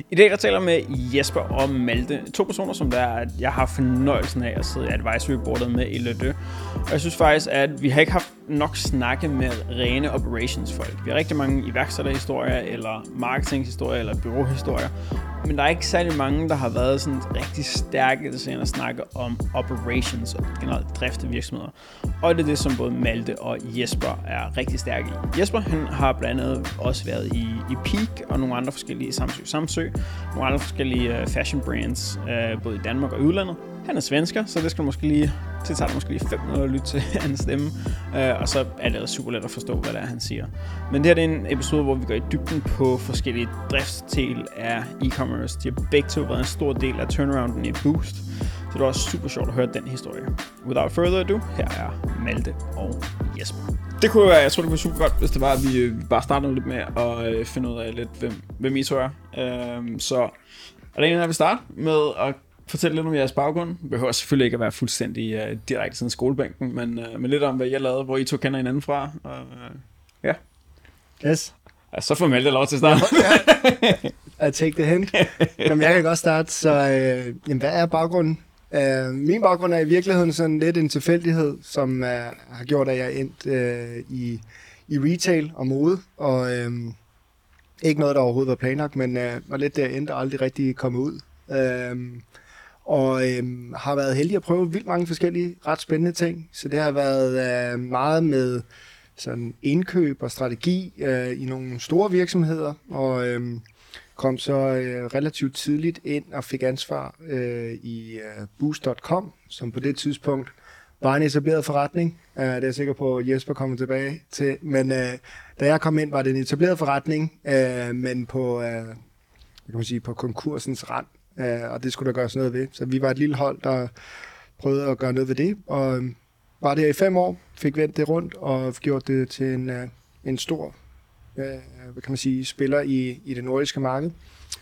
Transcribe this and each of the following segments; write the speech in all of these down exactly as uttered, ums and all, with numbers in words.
I dag der taler jeg med Jesper og Malte, to personer, som der, jeg har fornøjelsen af at sidde i advisory-boardet med i Ledø. Og jeg synes faktisk, at vi har ikke haft nok snakke med rene operationsfolk. Vi har rigtig mange iværksætterhistorier, eller marketinghistorier, eller byråhistorier. Men der er ikke særlig mange, der har været sådan rigtig stærke til at snakke om operations og generelt drift af virksomheder. Og det er det, som både Malte og Jesper er rigtig stærke i. Jesper han har blandt andet også været i, i Peak og nogle andre forskellige Samsø Samsø, nogle andre forskellige uh, fashion brands, uh, både i Danmark og i udlandet. Han er svensker, så det skal måske lige, det tager det måske lige fem minutter at lytte til hans stemme, uh, og så er det super let at forstå, hvad det er, han siger. Men det her det er en episode, hvor vi går i dybden på forskellige driftsdel af e-commerce. De har begge to været en stor del af turnarounden i Boost, så det er også super sjovt at høre den historie. Without further ado, her er Malte og Jesper. Det kunne være, jeg tror det kunne være super godt, hvis det var, at vi bare startede lidt med at øh, finde ud af lidt, hvem, hvem I to er. Øhm, så er det en, der vil starte med at fortælle lidt om jeres baggrund. Det behøver selvfølgelig ikke at være fuldstændig uh, direkte siden skolebænken, men, uh, men lidt om, hvad jeg lavede, hvor I to kender hinanden fra. Og, uh, ja. Yes. Ja, så får Malte lov til at starte. Ja, I take the hint. Jamen, jeg kan godt starte, så øh, jamen, hvad er baggrunden? Uh, min baggrund er i virkeligheden sådan lidt en tilfældighed, som uh, har gjort, at jeg endte uh, i, i retail og mode, og uh, ikke noget, der overhovedet var planlagt, men uh, var lidt der endte og aldrig rigtig kommet ud. Uh, og uh, har været heldig at prøve vildt mange forskellige ret spændende ting, så det har været uh, meget med sådan indkøb og strategi uh, i nogle store virksomheder, og uh, kom så øh, relativt tidligt ind og fik ansvar øh, i øh, Boost punktum com, som på det tidspunkt var en etableret forretning. Uh, det er jeg sikker på, at Jesper kommer tilbage til. Men øh, da jeg kom ind, var det en etableret forretning, øh, men på, øh, kan man sige, på konkursens rand, øh, og det skulle der gøres noget ved. Så vi var et lille hold, der prøvede at gøre noget ved det, og øh, var der i fem år, fik vendt det rundt og gjort det til en, øh, en stor hvad kan man sige, spiller i, i det nordiske marked.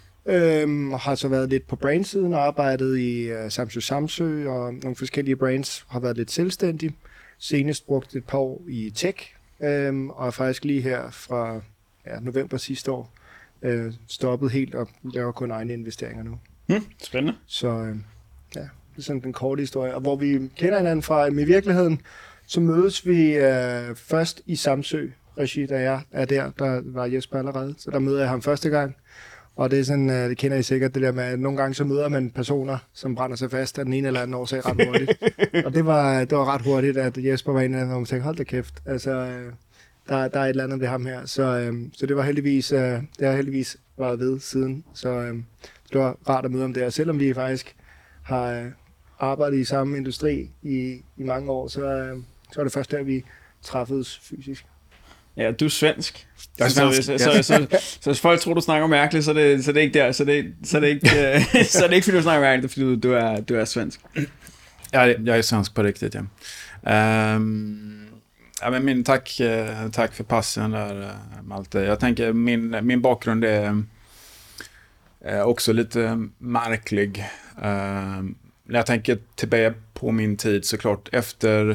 Øhm, og har så været lidt på brandsiden og arbejdet i uh, Samsø Samsø og nogle forskellige brands, har været lidt selvstændig. Senest brugt et par år i tech, øhm, og er faktisk lige her fra ja, november sidste år øh, stoppet helt og laver kun egne investeringer nu. Hmm, spændende. Så øh, ja, det er sådan den korte historie. Og hvor vi kender hinanden fra, men i virkeligheden, så mødes vi øh, først i Samsø regi, da jeg er der, der var Jesper allerede, så der møder jeg ham første gang, og det er sådan, det kender I sikkert, det der med, at nogle gange så møder man personer, som brænder sig fast af den ene eller anden årsag ret hurtigt, og det var, det var ret hurtigt, at Jesper var en af dem, hvor man tænkte, hold da kæft, altså, der, der er et eller andet ved ham her, så, så det var heldigvis, det har heldigvis været ved siden, så det var rart at møde ham der, selvom vi faktisk har arbejdet i samme industri i, i mange år, så, så var det først der, vi træffedes fysisk. Ja, du er svensk. Jeg er så, svensk. Så, så, så, så, så hvis folk tror, du snakker mærkeligt, så er det, så er det ikke der. Så er det, så er det ikke, uh, så er det ikke fordi du snakker mærkeligt, fordi du, du, er, du er svensk. Ja, jag är svensk på riktigt, ja. Um, ja men min, tack, tack för passen där, Malte. Jag tänker, min, min bakgrund är, är också lite märklig. Um, när jag tänker tillbaka på min tid, såklart, efter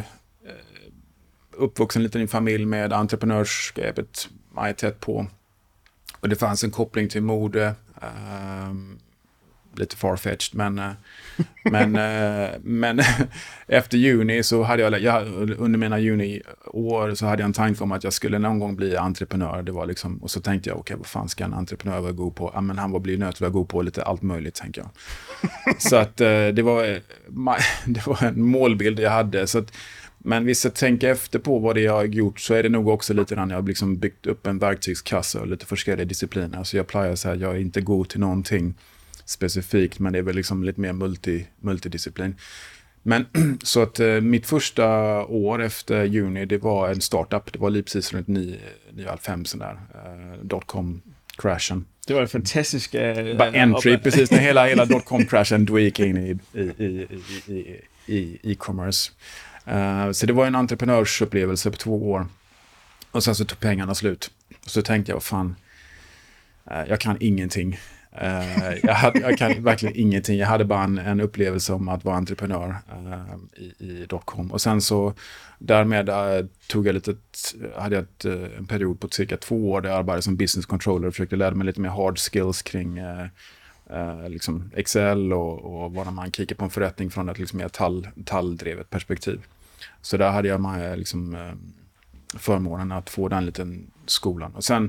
uppvuxen liten i en familj med entreprenörskapet majoritet på. Och det fanns en koppling till mode. Um, lite farfetched, men uh, men uh, men efter juni så hade jag, jag under mina juniår så hade jag en tanke om att jag skulle någon gång bli entreprenör. Det var liksom, och så tänkte jag, okej, okay, vad fan ska en entreprenör vara god på? Ja, men han var bli nöt vara god på lite allt möjligt, tänker jag. Så att uh, det var det var en målbild jag hade, så att, men hvis jag tänker efter på vad det jag har gjort, så är det nog också lite grann, jag har liksom byggt upp en verktygskassa och lite forskare discipliner. Så jag plejer så här, jag är inte god till någonting specifikt, men det är väl liksom lite mer multi, multidisciplin. Men så att eh, mitt första år efter juni, det var en startup. Det var lige precis runt nio halvfems sån där eh, dotcom-crashen. Det var en fantastisk... Uh, Bara entry, precis, när hela, hela dotcom-crashen då gick in i, i, i, i, i e-commerce. Uh, så det var en entreprenörsupplevelse på två år. Och sen så tog pengarna slut. Och så tänkte jag, fan, uh, jag kan ingenting. Uh, jag, hade, jag kan verkligen ingenting. Jag hade bara en, en upplevelse om att vara entreprenör uh, i, i dotcom. Och sen så därmed uh, tog jag lite, hade jag ett, uh, en period på cirka två år där jag arbetade som business controller och försökte lära mig lite mer hard skills kring uh, uh, liksom Excel och, och vad man kikar på en förrättning från ett liksom mer tall, talldrivet perspektiv. Så där hade jag med, liksom, uh, förmånen att få den liten skolan. Och sen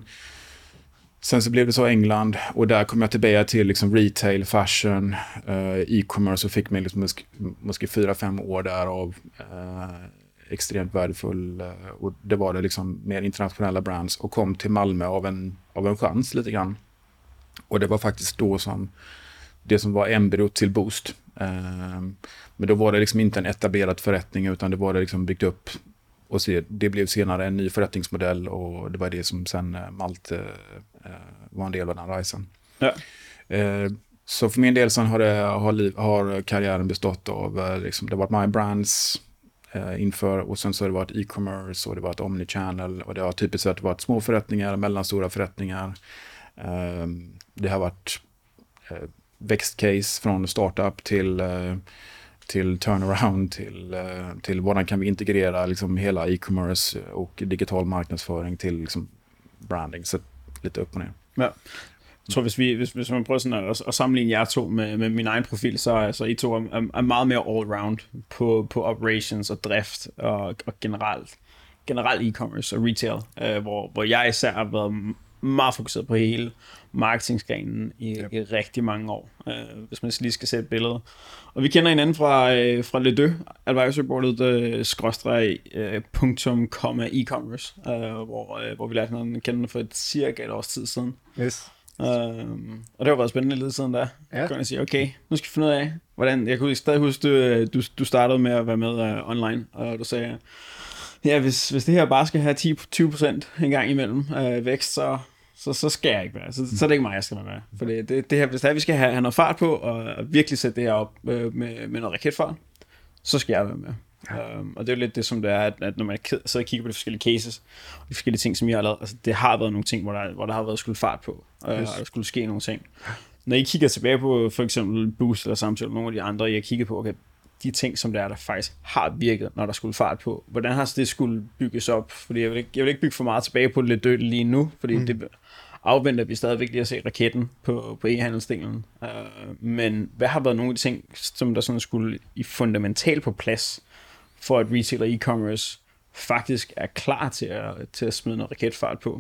Sen så blev det så England och där kom jag tillbaka till liksom retail, fashion, uh, e-commerce och fick mig liksom måske fyra, fem år där av uh, extremt värdefull uh, och det var det liksom mer internationella brands och kom till Malmö av en, av en chans lite grann. Och det var faktiskt då som det som var embryot till Boost. Uh, men då var det liksom inte en etablerad förrättning utan det var det liksom byggt upp. Och så, det blev senare en ny förrättningsmodell och det var det som sen uh, Malte uh, var en del av den resan. Ja. Uh, så för min del sen har, det, har, liv, har karriären bestått av, uh, liksom, det har varit My Brands uh, inför och sen så har det varit e-commerce och det har varit omnichannel och det har typiskt sett varit små förrättningar, mellanstora förrättningar. Uh, det har varit uh, växtcase från startup till uh, till turnaround, till, till hvordan kan vi integrera liksom hela e-commerce och digital marknadsföring till liksom branding, så lite upp och ner. Ja. Jeg tror, hvis, vi, hvis, hvis man prøver sådan at, at sammenligne jer to med, med min egen profil, så er altså, I to er, er meget mere all-round på, på operations og drift og, og generelt, generelt e-commerce og retail, øh, hvor, hvor jeg især har været meget fokuseret på hele marketingsgrenen i, yep. i rigtig mange år, øh, hvis man lige skal sætte et billede. Og vi kender hinanden fra, øh, fra Le Deux, advisory-boardet, øh, skråstreg, øh, punktum, komma, e-commerce, øh, hvor, øh, hvor vi lærte hinanden kende for et cirka et års tid siden. Yes. Øh, og det har været spændende lidt siden da. Ja. Kan jeg sige, okay, nu skal vi finde ud af, hvordan, jeg kunne stadig huske, du, du, du startede med at være med uh, online, og du sagde, ja, hvis, hvis det her bare skal have ti til tyve procent en gang imellem øh, vækst, så, så, så skal jeg ikke være. Så, så er det ikke mig, jeg skal være med. For det, det, det her, hvis det er, vi skal have, have noget fart på, og, og virkelig sætte det her op øh, med, med noget raketfart, så skal jeg være med. Ja. Um, og det er jo lidt det, som det er, at, at når man sidder og kigger på de forskellige cases, og de forskellige ting, som I har lavet, altså det har været nogle ting, hvor der, hvor der har været skulle fart på, øh, yes. og der skulle ske nogle ting. Når I kigger tilbage på for eksempel Boost eller Samtidig, nogle af de andre, I har kigget på, okay, de ting, som der er, der faktisk har virket, når der skulle fart på. Hvordan har det skulle bygges op? Fordi jeg vil ikke, jeg vil ikke bygge for meget tilbage på lidt dødt lige nu, fordi mm. det afventer vi stadigvæk lige at se raketten på, på e-handelsdelen. Uh, men hvad har været nogle af de ting, som der sådan skulle i fundamentalt på plads, for at retail og e-commerce faktisk er klar til at, til at smide noget raketfart på?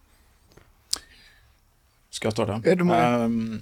Skal jeg stå der? Ja, du må. Um,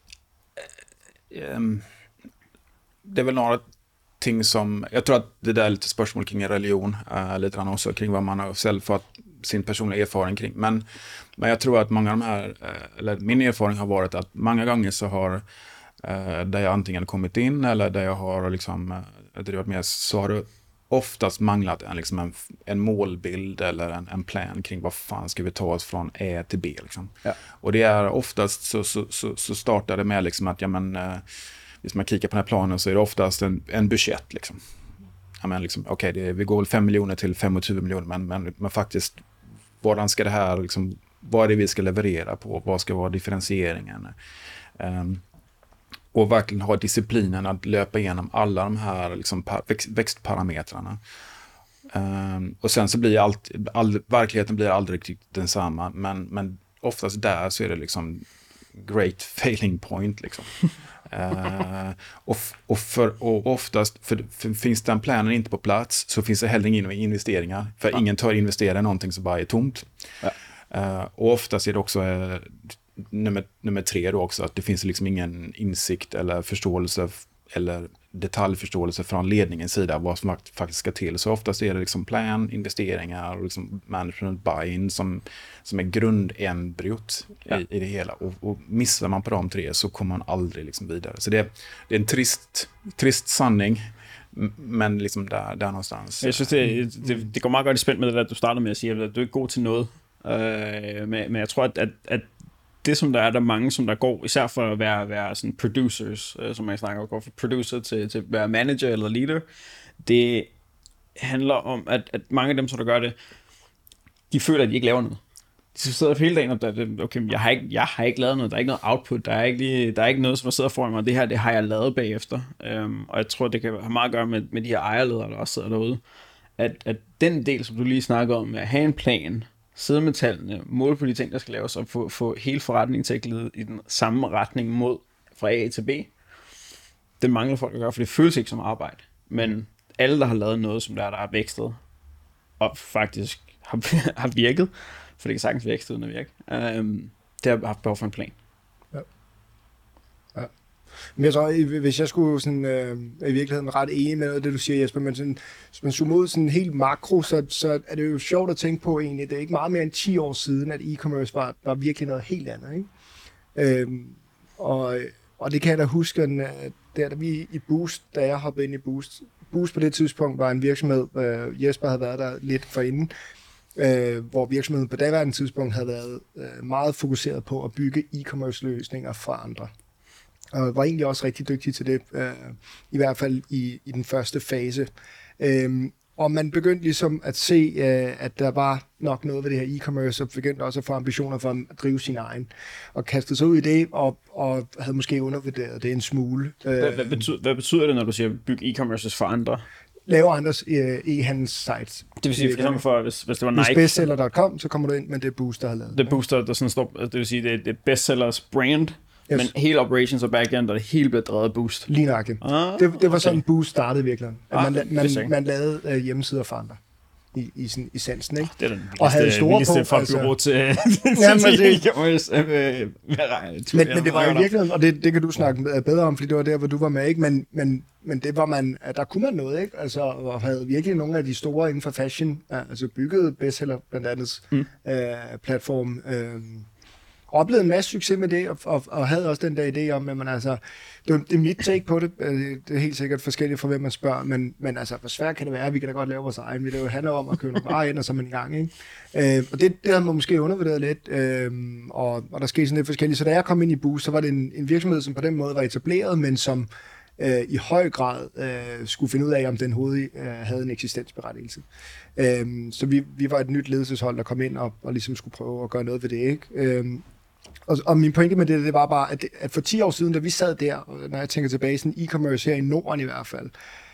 um, det är väl några ting som, jag tror att det där är lite spörsmål kring religion, uh, lite grann också kring vad man har själv fått sin personliga erfarenhet kring. Men, men jag tror att många av de här, uh, eller min erfarenhet har varit att många gånger så har uh, där jag antingen kommit in eller där jag har liksom uh, drivit med, så har det oftast manglat en, liksom en, en målbild eller en, en plan kring vad fan ska vi ta oss från A till B liksom. Ja. Och det är oftast så, så, så, så startar det med liksom att ja men uh, hvis man kikar på den här planen så är det oftast en, en budget liksom. Ja, men liksom, okej, okay, vi går väl fem miljoner till tjugofem miljoner, men, men, men faktiskt, hvordan ska det här, liksom, vad är det vi ska leverera på? Vad ska vara differentieringen? Um, och verkligen ha disciplinen att löpa igenom alla de här liksom, par, växt, växtparametrarna. Um, och sen så blir allt, all, verkligheten blir aldrig riktigt densamma, men, men oftast där så är det liksom great failing point liksom. Uh, och, och, för, och oftast för, för finns den planen inte på plats så finns det heller inga investeringar, för ja. ingen tar investera i någonting som bara är tomt. Ja. Uh, och oftast är det också uh, nummer, nummer tre då också att det finns liksom ingen insikt eller förståelse f- eller detaljförståelse från ledningens sida vad som faktiskt ska till. Så oftast är det liksom plan, investeringar och liksom management buy-in som, som är grundembryot ja. i, i det hela. Och, och missar man på de tre så kommer man aldrig liksom vidare. Så det, det är en trist, trist sanning, men liksom där, där någonstans. Jeg synes, det, det, det går meget godt i spænd med det der, du startede med at sige, at du er ikke god til noget. Øh, men, men jeg tror, at, at, at det, som der er, der er mange, som der går, især for at være, være sådan producers, øh, som jeg snakker om, går fra producer til, til at være manager eller leader, det handler om, at, at mange af dem, som der gør det, de føler, at de ikke laver noget. så sidder hele dagen og der, okay, jeg har, ikke, jeg har ikke lavet noget, der er ikke noget output, der er ikke, lige, der er ikke noget, som der sidder foran mig, det her, det har jeg lavet bagefter, øhm, og jeg tror, det kan have meget at gøre med, med de her ejerledere, der også sidder derude, at, at den del, som du lige snakker om, med at have en plan, sidde med tallene, måle på de ting, der skal laves, og få, få hele forretningen til at glide i den samme retning mod fra A til B, den mangler folk at gøre, for det føles ikke som arbejde, men alle, der har lavet noget, som der er, der er vækstet, og faktisk har, har virket, for det kan sagtens vækste uden at virke. Um, det har haft behov for en plan. Ja. Ja. Men jeg tror, hvis jeg skulle sådan, øh, i virkeligheden ret enig med noget af det, du siger, Jesper, men sådan, hvis man zoomer ud sådan helt makro, så, så er det jo sjovt at tænke på egentlig. Det er ikke meget mere end ti år siden, at e-commerce var, var virkelig noget helt andet. Ikke? Øhm, og, og det kan jeg da huske, at der, da vi i Boost, da jeg hoppede ind i Boost, Boost på det tidspunkt var en virksomhed, øh, Jesper havde været der lidt forinden, Øh, hvor virksomheden på daværende tidspunkt havde været øh, meget fokuseret på at bygge e-commerce løsninger for andre. Og var egentlig også rigtig dygtig til det, øh, i hvert fald i, i den første fase. Øh, og man begyndte ligesom at se, øh, at der var nok noget ved det her e-commerce, og begyndte også at få ambitioner for at drive sin egen. Og kastede sig ud i det, og, og havde måske undervurderet det en smule. Hvad, hvad, betyder, hvad betyder det, når du siger bygge e-commerce for andre? Laver andres øh, e-handelssites. Det vil sige, for eksempel for, hvis, hvis det var Nike... Hvis bestseller punktum com, så kommer du ind, men det er Boost, der har lavet det. er Booster, der sådan står... Det vil sige, det er, det er bestsellers brand, yes. Men hele operations og backend, der det hele bliver drevet af Boost. Lige nøjagtigt. Ah, det, det var okay. Sådan, Boost startede virkelig. At ah, man, man, man lavede øh, hjemmesider for andre. I, i sådan essensen, ikke? Det er den og havde store vildeste folkebureau til, men, men det var jo virkelig, og det, det kan du snakke bedre om, fordi det var der, hvor du var med, ikke? Men, men, men det var man, der kunne man noget, ikke? Altså, og havde virkelig nogle af de store inden for fashion, altså bygget bestseller blandt andet mm. øh, platform, øh, oplevede en masse succes med det, og, og, og havde også den der idé om, at man altså, det, det er mit take på det, det er helt sikkert forskelligt fra hvem man spørger, men, men altså, hvor svært kan det være, vi kan da godt lave vores egen, vi det jo handler om at købe nogle varer ind, og så er man i gang, ikke? Øh, og det, det havde man måske undervurderet lidt, øh, og, og der skete sådan lidt forskelligt, så da jeg kom ind i Boost, så var det en, en virksomhed, som på den måde var etableret, men som øh, i høj grad øh, skulle finde ud af, om den hovedet øh, havde en eksistensberettigelse. Øh, så vi, vi var et nyt ledelseshold, der kom ind og, og ligesom skulle prøve at gøre noget ved det, ikke? Øh, Og, og min pointe med det, det var bare, at, at for ti år siden, da vi sad der, når jeg tænker tilbage, sådan e-commerce her i Norden i hvert fald,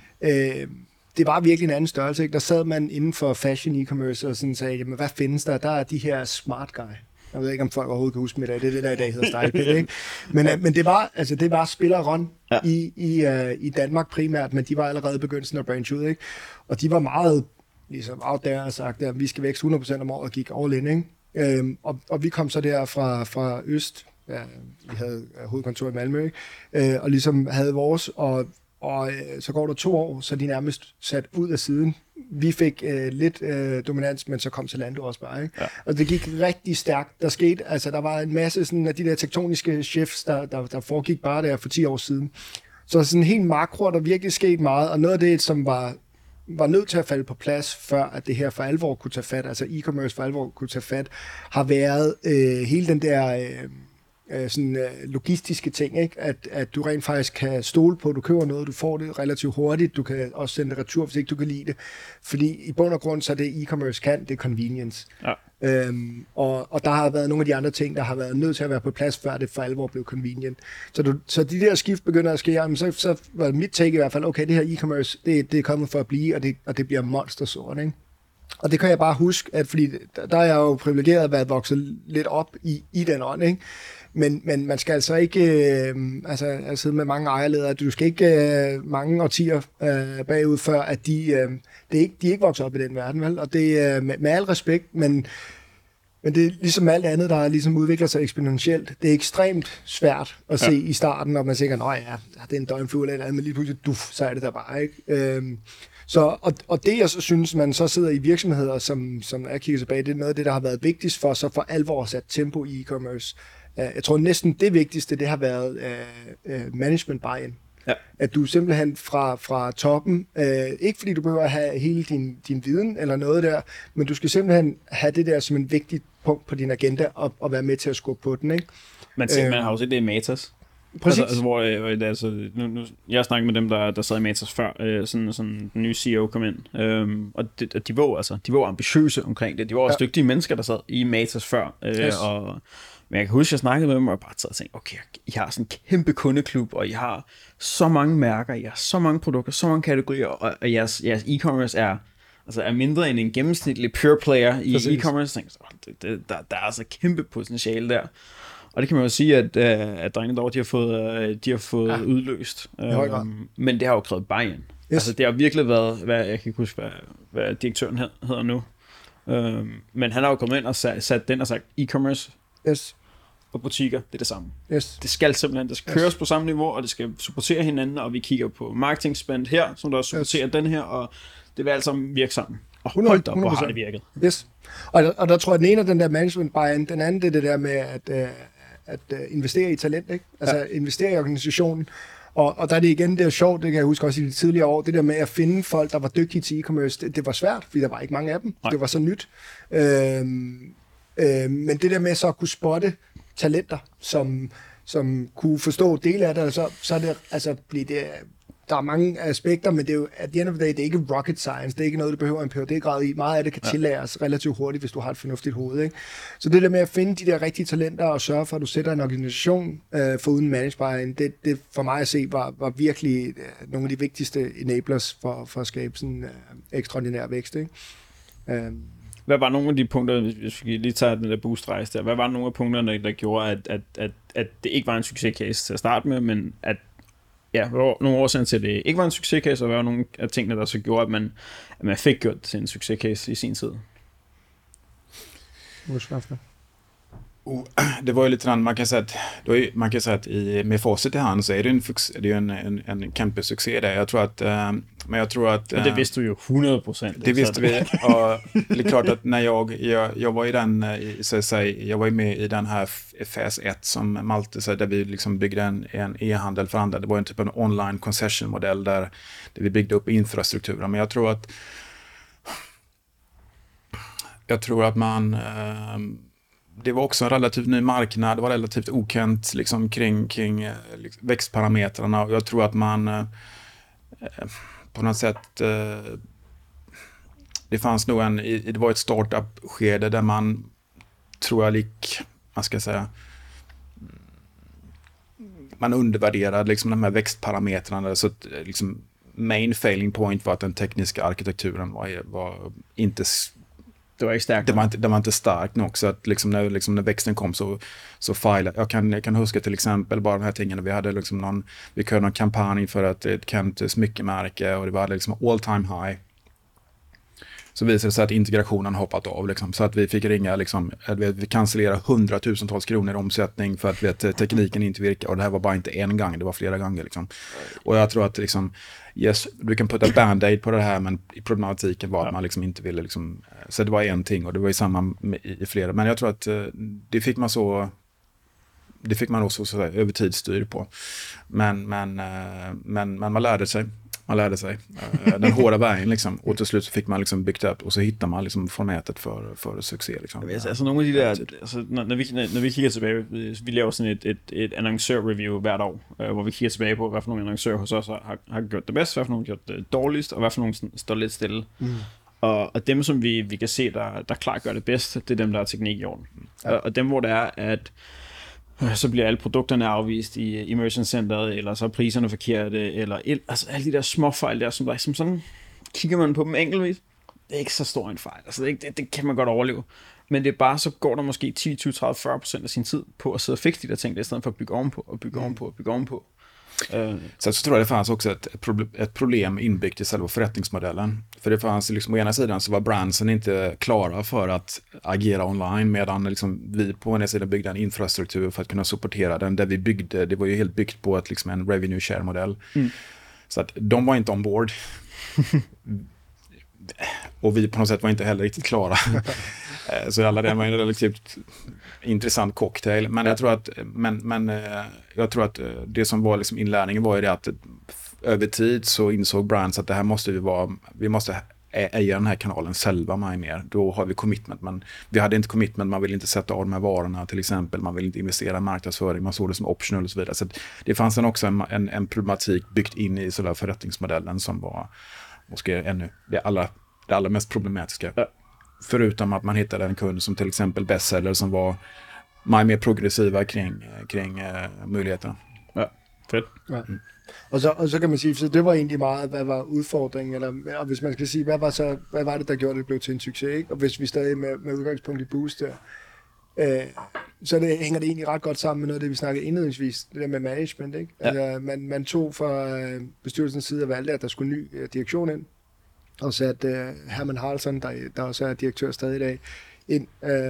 øh, det var virkelig en anden størrelse, ikke? Der sad man inden for fashion e-commerce og sådan sagde, jamen hvad findes der? Der er de her smart guy. Jeg ved ikke, om folk overhovedet kan huske mig i dag. Det er det, der i dag hedder StylePick, ikke? Men, men det var, altså det var spil og run ja. i, i, uh, i Danmark primært, men de var allerede begyndt sådan at branche ud, ikke? Og de var meget ligesom out there og sagt, at vi skal vækste hundrede procent om året og gik all in, ikke? Øhm, og, og vi kom så der fra, fra Øst, ja, vi havde hovedkontor i Malmø, ikke? Øh, og ligesom havde vores, og, og øh, så går der to år, så de nærmest sat ud af siden. Vi fik øh, lidt øh, dominans, men så kom Zalando også bare, ikke? Ja. Og det gik rigtig stærkt. Der skete, altså der var en masse sådan, af de der tektoniske shifts, der, der, der foregik bare der for ti år siden. Så sådan helt makro, der virkelig skete meget, og noget af det, som var var nødt til at falde på plads, før at det her for alvor kunne tage fat, altså e-commerce for alvor kunne tage fat, har været øh, hele den der øh, øh, sådan, øh, logistiske ting, ikke? At, at du rent faktisk kan stole på, at du køber noget, du får det relativt hurtigt, du kan også sende det retur, hvis ikke du kan lide det, fordi i bund og grund, så det e-commerce kan, det er convenience. Ja. Øhm, og, og der har været nogle af de andre ting, der har været nødt til at være på plads, før det for alvor blev convenient. Så, du, så de der skift begynder at ske, jamen, så, så var mit take i hvert fald, okay, det her e-commerce, det, det er kommet for at blive, og det, og det bliver monstersort, ikke? Og det kan jeg bare huske, at fordi der, der er jeg jo privilegeret at være vokset lidt op i, i den ånd, ikke? Men, men man skal altså ikke, øh, altså jeg sidder med mange ejerledere, du skal ikke øh, mange årtier øh, bagud, før at de, øh, det er ikke, de er ikke vokset op i den verden, vel? Og det er øh, med, med al respekt, men, men det er ligesom alt andet, der ligesom udvikler sig eksponentielt. Det er ekstremt svært at se ja. i starten, og man tænker, nå ja, det er en døgnflue eller andet, men lige pludselig, duf, så er det der bare, ikke? Øh, Så, og, og det jeg så synes, man så sidder i virksomheder, som, som jeg kigger tilbage, det er noget af det, der har været vigtigst for, så for alvor sat tempo i e-commerce. Jeg tror næsten det vigtigste, det har været uh, management buy-in. Ja. At du simpelthen fra, fra toppen, uh, ikke fordi du behøver at have hele din, din viden eller noget der, men du skal simpelthen have det der som en vigtig punkt på din agenda og, og være med til at skubbe på den, ikke? Man, ser, uh, man har jo set det i Matas. Præcis. Altså, altså, hvor, øh, altså, nu, nu, jeg har snakket med dem, der, der sad i Matas før, øh, sådan, sådan den nye C E O kom ind, øhm, og de, de, var, altså, de var ambitiøse omkring det. De var også ja. dygtige mennesker, der sad i Matas før, øh, yes. og men jeg kan huske, at jeg snakkede med dem, og jeg bare sad og tænkte, okay, I har sådan en kæmpe kundeklub, og I har så mange mærker, I har så mange produkter, så mange kategorier, og, og jeres, jeres e-commerce er, altså er mindre end en gennemsnitlig pure player i Præcis. e-commerce. Så det, det, der, der er altså kæmpe potentiale der. Og det kan man jo sige, at, at drengene derovre, de har fået, de har fået ja. udløst. Um, men det har jo krævet buy-in. Yes. Altså det har virkelig været, hvad, jeg kan ikke huske, hvad, hvad direktøren hedder nu. Um, men han har jo kommet ind og sat, sat den og sagt, e-commerce yes. og butikker, det er det samme. Yes. Det skal simpelthen, det skal køres yes. på samme niveau, og det skal supportere hinanden, og vi kigger på marketing spend her, som der supporterer yes. den her, og det vil altså virke sammen. Og hold op, hvor har det virket. Yes. Og, der, og der tror jeg, den ene af den der management buy-in, den anden det er det der med at, uh, at uh, investere i talent, ikke? Altså ja. investere i organisationen. Og, og der er det igen, det er sjovt, det kan jeg huske også i de tidligere år, det der med at finde folk, der var dygtige til e-commerce, det, det var svært, fordi der var ikke mange af dem. Nej. Det var så nyt. Øhm, øhm, men det der med så at kunne spotte talenter, som, som kunne forstå dele af det, så, så er det, altså, bliver det... Der er mange aspekter, men det er jo, at the end of the day, det er ikke rocket science, det er ikke noget, du behøver en P H D-grad i. Meget af det kan ja. tillæres relativt hurtigt, hvis du har et fornuftigt hoved. Ikke? Så det der med at finde de der rigtige talenter og sørge for, at du sætter en organisation øh, for uden management, det, det for mig at se var, var virkelig øh, nogle af de vigtigste enablers for, for at skabe sådan øh, ekstraordinær vækst. Ikke? Øh. Hvad var nogle af de punkter, hvis vi lige tager den der boost-rejse der, hvad var nogle af punkterne, der gjorde, at, at, at, at det ikke var en succescase til at starte med, men at ja, hvad var nogle årsager til, at det ikke var en succescase, og hvad var nogle af tingene, der så gjorde, at man, at man fik gjort det til en succescase i sin tid? Oh, det var ju lite grann, man kan säga att, då är, man kan säga att i, med facit i hand så är det, en, är det ju en, en, en kämpesuccé där. Jag tror att, äh, men jag tror att... Äh, det visste du ju hundra procent. Det visste vi. Och det är klart att när jag, jag, jag var i den, så att säga, jag var ju med i den här fas ett som Malte sa, där vi liksom byggde en, en e-handel för andra. Det var en typ av en online concession-modell där, där vi byggde upp infrastrukturen. Men jag tror att jag tror att man... Äh, det var också en relativt ny marknad, det var relativt okänt liksom, kring, kring liksom, växtparametrarna, och jag tror att man eh, på något sätt eh, det fanns nog en, det var ett startup-skede där man tror jag lik, vad ska jag säga, man undervärderade liksom, de här växtparametrarna, så att liksom, main failing point var att den tekniska arkitekturen var, var inte Det var inte starkt. Det var inte, det var inte starkt nog, så att liksom när, liksom när växten kom så, så filade. Jag kan, jag kan huska till exempel bara de här tingen. Vi hade liksom någon, vi körde någon kampanj för att ett Kent smyckemärke, och det var liksom all time high. Så visade det sig att integrationen hoppat av liksom, så att vi fick ringa liksom, vi, vi cancellera hundratusentals kronor i omsättning för att vet, tekniken inte virkar, och det här var bara inte en gång, det var flera gånger liksom. Och jag tror att liksom, yes, du kan putta band-aid på det här, men problematiken var att man liksom inte ville liksom, så det var en ting, och det var ju samma med, i, i flera, men jag tror att det fick man så det fick man också så över tid styr på, men men men men man lärde sig man lärde sig den hårda vägen liksom, och till slut så fick man liksom byggt upp, och så hittar man liksom formatet för för succé liksom. Altså, altså nogle af de der, altså når, når vi når vi kigger tilbage, vi laver sådan et et et annoncør review hvert år, øh, hvor vi kigger tilbage på, hvad for nogle annoncører hos os har har gjort det bedst, hvad for nogle har gjort det dårligst, og hvad for nogle står lidt stille. Mm. Og, og dem som vi vi kan se der der klart gør det bedst, det er dem der har teknik i orden. Ja. Og, og dem hvor det er at så bliver alle produkterne afvist i Immersion Centeret, eller så er priserne forkerte, eller el, altså alle de der små fejl der, som, der, som sådan kigger man på dem enkeltvis. Det er ikke så stor en fejl, altså det, det, det kan man godt overleve. Men det er bare, så går der måske ti, tyve, tredive, fyrre procent af sin tid på at sidde og fikse de der ting, i stedet for at bygge ovenpå, og bygge ovenpå, og bygge ovenpå. Uh. Så, så tror jag det fanns också ett, ett, problem, ett problem inbyggt i själva förrättningsmodellen. För det fanns liksom, å ena sidan så var brandsen inte klara för att agera online, medan liksom, vi på ena sidan byggde en infrastruktur för att kunna supportera den, där vi byggde, det var ju helt byggt på ett, liksom, en revenue share-modell. Mm. Så att de var inte ombord. Och vi på något sätt var inte heller riktigt klara. Så alla det var en relativt intressant cocktail, men jag tror att men men jag tror att det som var liksom inlärningen var ju det att över tid så insåg brands att det här måste vi vara vi måste äga den här kanalen själva mig mer. Då har vi commitment, men vi hade inte commitment, man vill inte sätta av de här varorna till exempel, man vill inte investera i marknadsföring, man såg det som optional och så vidare. Så det fanns en också en, en, en problematik byggt in i sådär förrättningsmodellen som var måske ännu det allra, det allra mest problematiska. Ja. Förutom att man hittade en kund som till exempel bestseller som var mer progressiva kring, kring uh, möjligheterna. Ja, fedt. Ja. Mm. Og så, og så kan man sige, så det var egentlig meget, hvad var udfordringen, eller og hvis man skal sige, hvad var, så, hvad var det, der gjorde, det blev til en succes, ikke? Og hvis vi stadig med, med udgangspunkt i Boost der, øh, så det, hænger det egentlig ret godt sammen med noget af det, vi snakkede indledningsvis, det der med management, ikke? Ja. Altså, man, man tog fra øh, bestyrelsens side og valgte, at der skulle ny øh, direktion ind, og satte øh, Herman Haraldsson, der, der også er direktør stadig i dag, ind, øh,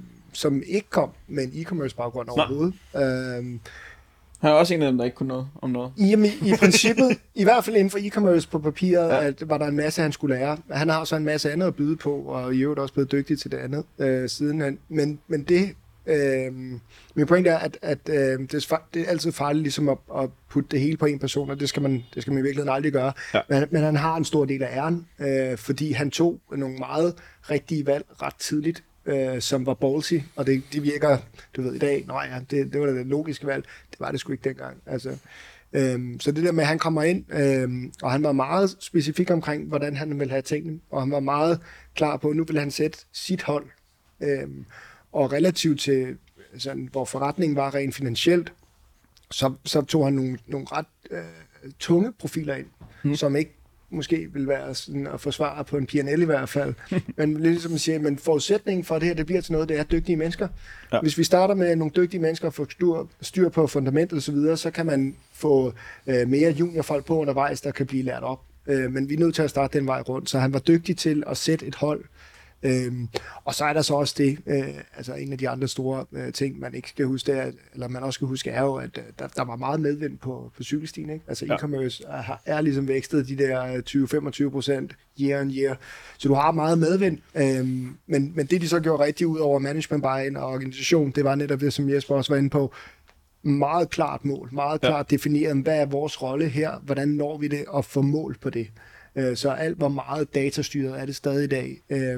som ikke kom med en e-commerce baggrund overhovedet. Øh, Han er også en af dem, der ikke kunne noget om noget. Jamen, i princippet, i hvert fald inden for e-commerce på papiret, ja. At var der en masse, han skulle lære. Han har så en masse andet at byde på, og i øvrigt også blevet dygtig til det andet øh, sidenhen. Men, men det, øh, min point er, at, at øh, det, er, det er altid farligt ligesom at, at putte det hele på en person, og det skal man, det skal man i virkeligheden aldrig gøre. Ja. Men, men han har en stor del af æren, øh, fordi han tog nogle meget rigtige valg ret tidligt, Øh, som var ballsy, og det, det virker, du ved, i dag, nej ja, det, det var det logiske valg, det var det sgu ikke dengang. Altså, øhm, så det der med, at han kommer ind, øhm, og han var meget specifik omkring, hvordan han ville have tingene, og han var meget klar på, at nu ville han sætte sit hold, øhm, og relativt til, sådan, hvor forretningen var rent finansielt, så, så tog han nogle, nogle ret øh, tunge profiler ind, hmm. som ikke måske vil være sådan at forsvare på en P and L i hvert fald. Men ligesom at sige, men forudsætningen for det her, det bliver til noget, det er dygtige mennesker. Ja. Hvis vi starter med nogle dygtige mennesker og får styr, styr på fundamentet og så videre, så kan man få øh, mere juniorfolk på undervejs, der kan blive lært op. Øh, men vi er nødt til at starte den vej rundt. Så han var dygtig til at sætte et hold. Øhm, og så er der så også det, øh, altså en af de andre store øh, ting, man ikke skal huske, er, eller man også skal huske, er jo, at øh, der, der var meget medvind på, på cykelstien, ikke? Altså ja. E-commerce er, er ligesom vækstet de der tyve til femogtyve procent year on year, så du har meget medvind, øhm, men, men det de så gjorde rigtig ud over management buy-in og organisation, det var netop det, som Jesper også var inde på, meget klart mål, meget klart ja. Defineret, hvad er vores rolle her, hvordan når vi det, og få mål på det. Så alt var meget datastyret, er det stadig i dag.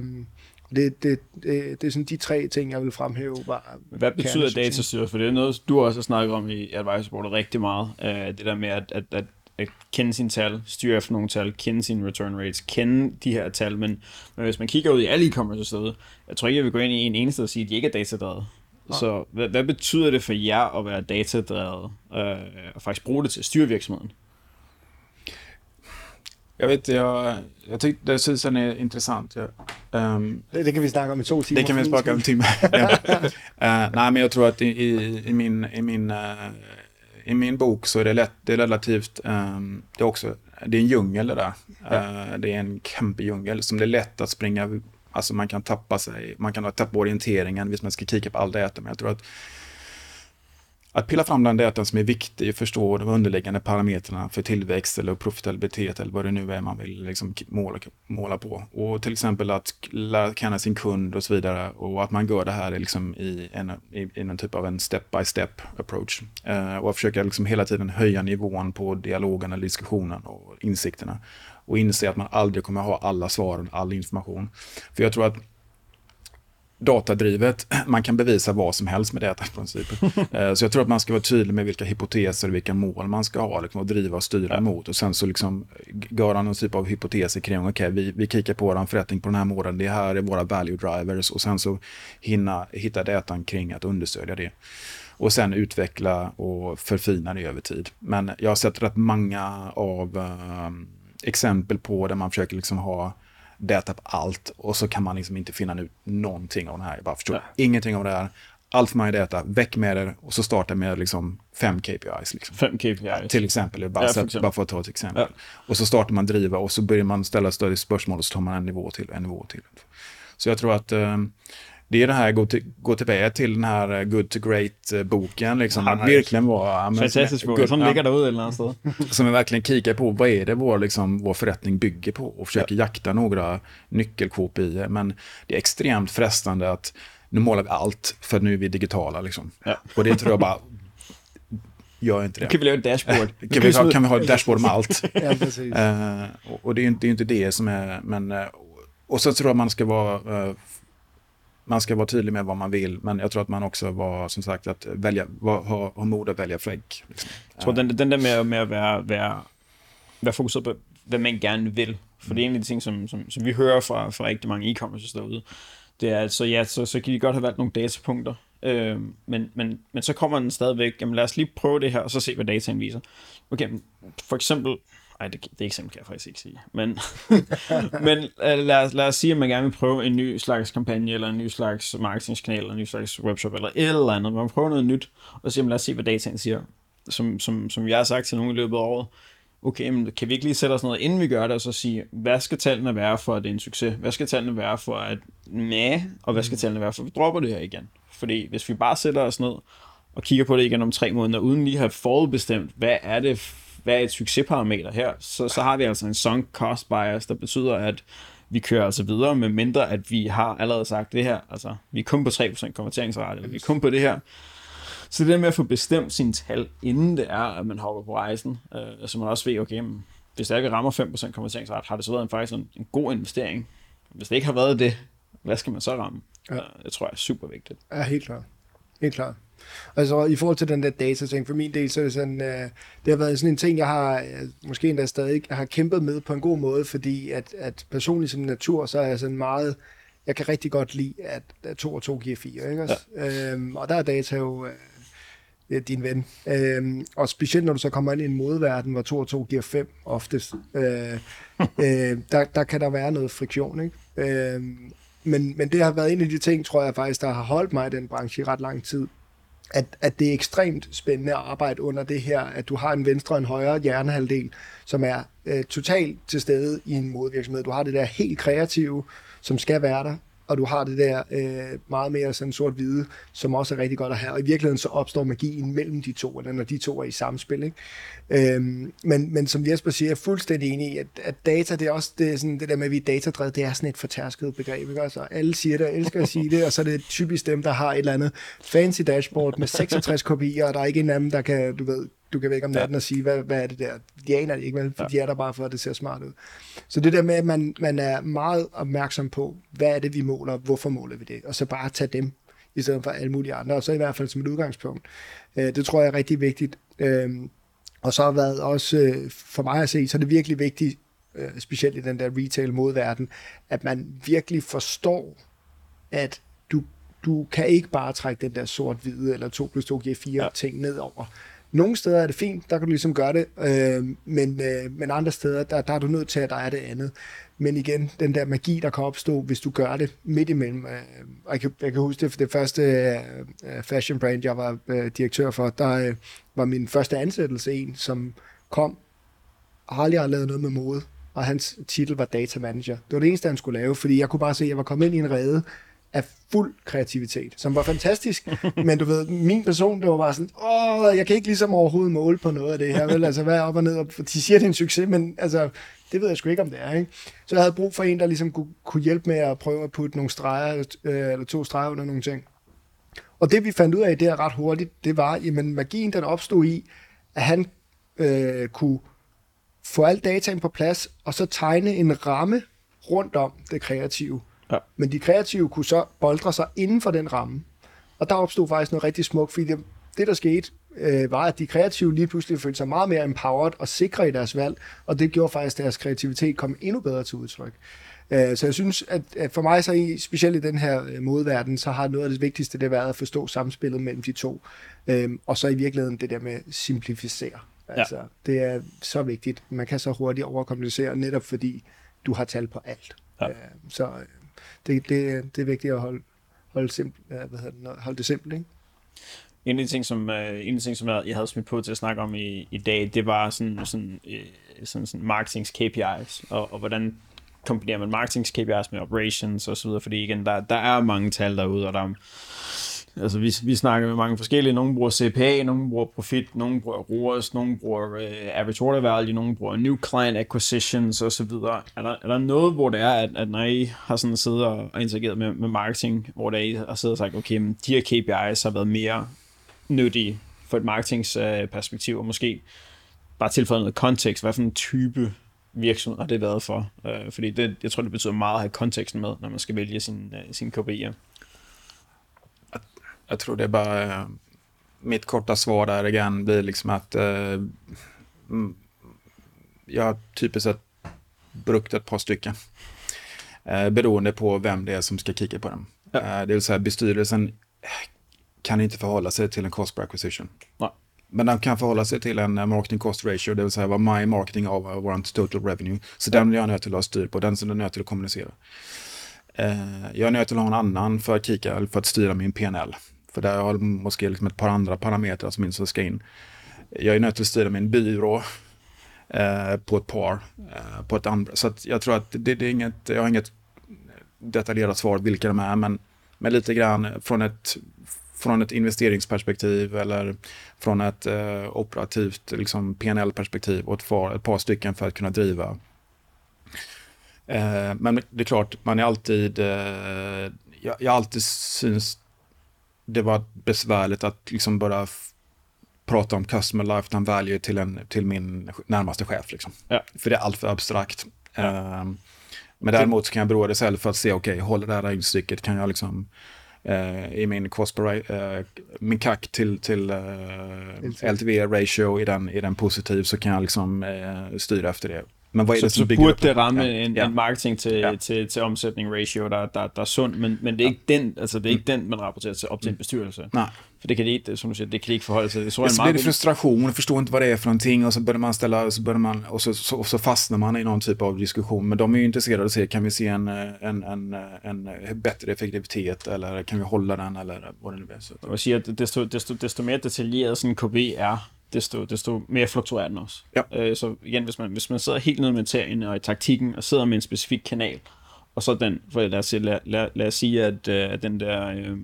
Det, det, det, det er sådan de tre ting, jeg vil fremhæve. Var Hvad betyder datastyret? For det er noget, du også har snakket om i AdvisorBoard rigtig meget. Det der med at, at, at, at kende sine tal, styre efter nogle tal, kende sine return rates, kende de her tal. Men, men hvis man kigger ud i alle e-commerce steder, jeg tror ikke, jeg vil gå ind i en eneste og sige, at de ikke er datadrevet. Ja. Så hvad, hvad betyder det for jer at være datadrevet øh, og faktisk bruge det til at styre virksomheden? Jag vet, jag, jag tyckte det synes han är intressant. Jag, um, det, det kan vi snakke om i to timer. Det kan vi snakke om i timer. Ja. uh, nej, men jag tror att i, i, i, min, i, min, uh, i min bok så är det, lätt, det är relativt, um, det är också, det är en djungel det där. Uh, det är en kämpedjungel som det är lätt att springa, alltså man kan tappa sig, man kan tappa orienteringen hvis man ska kika på all data, men jag tror att Att pilla fram den datan som är viktig och förstå de underliggande parametrarna för tillväxt eller profitabilitet eller vad det nu är man vill liksom måla, måla på. Och till exempel att lära känna sin kund och så vidare, och att man gör det här liksom i, en, i, i en typ av en step-by-step approach. Uh, och att försöka liksom hela tiden höja nivån på dialogen eller diskussionen och insikterna. Och inse att man aldrig kommer ha alla svaren, all information. För jag tror att datadrivet, man kan bevisa vad som helst med data i princip. Så jag tror att man ska vara tydlig med vilka hypoteser och vilka mål man ska ha liksom, och driva och styra emot. Och sen så liksom göra någon typ av hypoteser kring, okej, okay, vi, vi kikar på våran förrättning på den här målen, det här är våra value drivers, och sen så hinna, hitta datan kring att understödja det. Och sen utveckla och förfina det över tid. Men jag har sett rätt många av uh, exempel på där man försöker liksom ha data på allt, och så kan man liksom inte finna ut någonting av det här. Jag bara förstår ja. ingenting av det här. Allt för mig data, väck med det, och så starta med liksom fem K P Is. Liksom. Fem K P Is. Till exempel, bara, ja, för exempel. bara för att ta ett exempel. Ja. Och så startar man driva, och så börjar man ställa större spörsmål, och så tar man en nivå till, en nivå till. Så jag tror att um, det är det här, gå, till, gå tillbaka till den här Good to Great-boken. Liksom, att verkligen vara... Fantastisk bok, som ligger där ute eller något sted. Som vi verkligen kikar på, vad är det vår, liksom, vår förrättning bygger på, och försöker ja. jakta några nyckel-K P I. Men det är extremt frestande att nu målar vi allt, för nu är vi digitala. Liksom. Ja. Och det tror jag bara... gör inte det. Kan vi lave et dashboard? Kan vi, ha, kan vi ha ett dashboard med allt? Ja, precis. Uh, och det är ju inte, inte det som är... Men, uh, och så tror jag man ska vara... Uh, man ska vara tydlig med vad man vill, men jag tror att man också var, som sagt, att välja, var, ha, ha mod at vælge flæk. Liksom. Jeg tror, den, den der med, med at være, være, være fokuseret på, hvad man gerne vil, for mm. det er en af de ting, som, som, som vi hører fra, fra rigtig mange e-commerce derude, det er, at så, ja, så, så kan de godt have valgt nogle datapunkter, øh, men, men, men så kommer den stadigvæk, jamen lad os lige prøve det her, og så se, hvad dataen viser. Okay, for eksempel, ej, det, det eksempel kan jeg faktisk ikke sige. Men, men lad, os, lad os sige, at man gerne vil prøve en ny slags kampagne, eller en ny slags marketingskanal, eller en ny slags webshop, eller et eller andet. Man prøver noget nyt, og så siger, lad os se, hvad dataen siger. Som, som, som jeg har sagt til nogen i løbet af året. Okay, men kan vi ikke lige sætte os noget, inden vi gør det, og så sige, hvad skal tallene være for, at det er en succes? Hvad skal tallene være for, at næh, og hvad skal tallene være for, at vi dropper det her igen? Fordi hvis vi bare sætter os ned og kigger på det igen om tre måneder, uden lige at have forudbestemt, hvad er det hvad er et succesparameter her, så, så har vi altså en sunk cost bias, der betyder, at vi kører altså videre, med mindre at vi har allerede sagt det her, altså vi er kun på tre procent konverteringsrate, eller vi er kun på det her. Så det der med at få bestemt sine tal, inden det er, at man hopper på rejsen, øh, så man også ved, okay, men, hvis det ikke rammer fem procent konverteringsrate, har det så været en, faktisk en, en god investering. Hvis det ikke har været det, hvad skal man så ramme? Ja. Det tror jeg er super vigtigt. Ja, helt klart. Helt klart. Altså i forhold til den der data-ting, for min del, så er det sådan, øh, det har været sådan en ting, jeg har øh, måske endda stadig har kæmpet med på en god måde, fordi at, at personligt som natur, så er jeg sådan meget, jeg kan rigtig godt lide, at, at to og to giver fire, ikke også? Ja. Øhm, og der er data jo øh, din ven. Øhm, og specielt når du så kommer ind i en modeverden, hvor to og to giver fem oftest, øh, øh, der, der kan der være noget friktion, ikke? Øhm, men, men det har været en af de ting, tror jeg faktisk, der har holdt mig i den branche i ret lang tid. At, at det er ekstremt spændende at arbejde under det her, at du har en venstre og en højre hjernehalvdel, som er øh, totalt til stede i en modevirksomhed. Du har det der helt kreative, som skal være der, og du har det der øh, meget mere sådan sort-hvide, som også er rigtig godt at have. Og i virkeligheden så opstår magien mellem de to, eller når de to er i samspil, ikke? Øhm, men, men som Jesper siger, jeg er fuldstændig enig i, at, at data, det er også det, sådan, det der med, at vi er datadrevet, det er sådan et fortærsket begreb, ikke? Altså, alle siger det, og elsker at sige det, og så er det typisk dem, der har et eller andet fancy dashboard med seksogtres kopier, og der er ikke en af dem, der kan, du ved, du kan vække om natten og sige, hvad, hvad er det der? De aner det ikke, vel? For ja. De er der bare for, at det ser smart ud. Så det der med, at man, man er meget opmærksom på, hvad er det, vi måler, hvorfor måler vi det, og så bare tage dem, i stedet for alle mulige andre, og så i hvert fald som et udgangspunkt. Det tror jeg er rigtig vigtigt. Og så har været også, for mig at se, så er det virkelig vigtigt, specielt i den der retail-modverden, at man virkelig forstår, at du, du kan ikke bare trække den der sort-hvide, eller to plus to giver fire ja. ting ned over. Nogle steder er det fint, der kan du ligesom gøre det, øh, men, øh, men andre steder, der, der er du nødt til, at der er det andet. Men igen, den der magi, der kan opstå, hvis du gør det midt imellem. Øh, og jeg, kan, jeg kan huske det, for det første øh, fashion brand, jeg var øh, direktør for, der øh, var min første ansættelse en, som kom og har aldrig lavet noget med mode, og hans titel var data manager. Det var det eneste, han skulle lave, fordi jeg kunne bare se, at jeg var kommet ind i en rede af fuld kreativitet, som var fantastisk, men du ved, min person, det var bare sådan, åh, jeg kan ikke ligesom overhovedet måle på noget af det her, vel, altså, hvad er op og ned, og de siger, det er en succes, men altså, det ved jeg sgu ikke, om det er, ikke? Så jeg havde brug for en, der ligesom kunne, kunne hjælpe med at prøve at putte nogle streger, øh, eller to streger under nogle ting. Og det, vi fandt ud af, det er ret hurtigt, det var, jamen, magien, den opstod i, at han øh, kunne få al dataen på plads, og så tegne en ramme rundt om det kreative. Ja. Men de kreative kunne så boldre sig inden for den ramme. Og der opstod faktisk noget rigtig smukt, fordi det, det der skete, øh, var, at de kreative lige pludselig følte sig meget mere empowered og sikre i deres valg, og det gjorde faktisk, at deres kreativitet kom endnu bedre til udtryk. Øh, så jeg synes, at, at for mig, så i, specielt i den her modverden, så har noget af det vigtigste det været at forstå samspillet mellem de to. Øh, og så i virkeligheden det der med at simplificere. Altså, ja. Det er så vigtigt. Man kan så hurtigt overkomplicere, netop fordi du har tal på alt. Ja. Øh, så Det, det, det er vigtigt at holde, holde, simpel, hvad hedder det, holde det simpelt, ikke? En af de ting, som, en af de ting, som jeg havde smidt på til at snakke om i, i dag, det var sådan, sådan, sådan, sådan marketings K P Is, og, og hvordan kombinerer man marketings K P Is med operations og så videre, fordi igen, der, der er mange tal derude, og der er, altså vi, vi snakker med mange forskellige, nogle bruger C P A, nogle bruger profit, nogle bruger R O A S, nogle bruger uh, average order value, nogle bruger new client acquisitions og så videre. Er der, er der noget, hvor det er, at, at når I har sådan siddet og interageret med, med marketing, hvor der I har siddet og sagt, okay, men de her K P Is har været mere nyttige for et marketingsperspektiv, og måske bare tilføje noget kontekst. Hvad for en type virksomhed har det været for? Øh, fordi det, jeg tror, det betyder meget at have konteksten med, når man skal vælge sin, uh, sin K P I'er. Jag, jag tror det är bara... Uh, mitt korta svar där igen blir liksom att uh, jag har typiskt sett brukt ett par stycken. Uh, beroende på vem det är som ska kika på dem. Ja. Uh, det vill säga bestyrelsen kan inte förhålla sig till en cost per acquisition. Nej. Men den kan förhålla sig till en marketing cost ratio, det vill säga vad my marketing av vår total revenue. Så ja. Den är jag nöjd till att ha styr på, den som är nöjd till att kommunicera. Uh, jag är nöjd till att ha en annan för att kika, eller för att styra min P and L. För där har jag måske liksom ett par andra parametrar som inte ska in. Jag är nöjd till att styra min byrå uh, på ett par, uh, på ett andra. Så att jag tror att det, det är inget, jag har inget detaljerat svar vilka de är, men, men lite grann från ett från ett investeringsperspektiv eller från ett eh, operativt liksom P and L-perspektiv och ett par, ett par stycken för att kunna driva. Eh, men det är klart, man är alltid eh, jag, jag alltid syns det var besvärligt att liksom bara f- prata om customer lifetime value till, en, till min närmaste chef liksom. Ja. För det är allt för abstrakt. Ja. Eh, men däremot så kan jag bråda det själv för att se, okej, okay, håller det här instycket, kan jag liksom Uh, i min cost per, uh, min C A C till, till uh, L T V ratio i den, i den positiv, så kan jag liksom uh, styra efter det. Men vad är så, det som så bygger burde upp? det ramme ja. en, ja. en marketing til, ja. til, til omsætning ratio, der, der, der er sund, men, men det er ikke den, altså det er ikke den, man rapporterer til op til en bestyrelse. Nej. För det kan de inte, som du säger, det kan de inte förhålla sig. Det så blir det frustration och förstår inte vad det är för någonting, och så börjar man ställa, så börjar man, och så, så, och så fastnar man i någon typ av diskussion. Men de är ju intresserade av att se, kan vi se en, en, en, en bättre effektivitet, eller kan vi hålla den, eller vad det nu är. Så. Jag säger att desto, desto, desto mer detaljerad sådan en K P I er, desto, desto mere fluktuerer den også. Ja. Øh, så igen, hvis man, hvis man sidder helt nede med materien og i taktikken, og sidder med en specifik kanal, og så den, for lad os, lad, lad, lad os sige, at, at den der øh,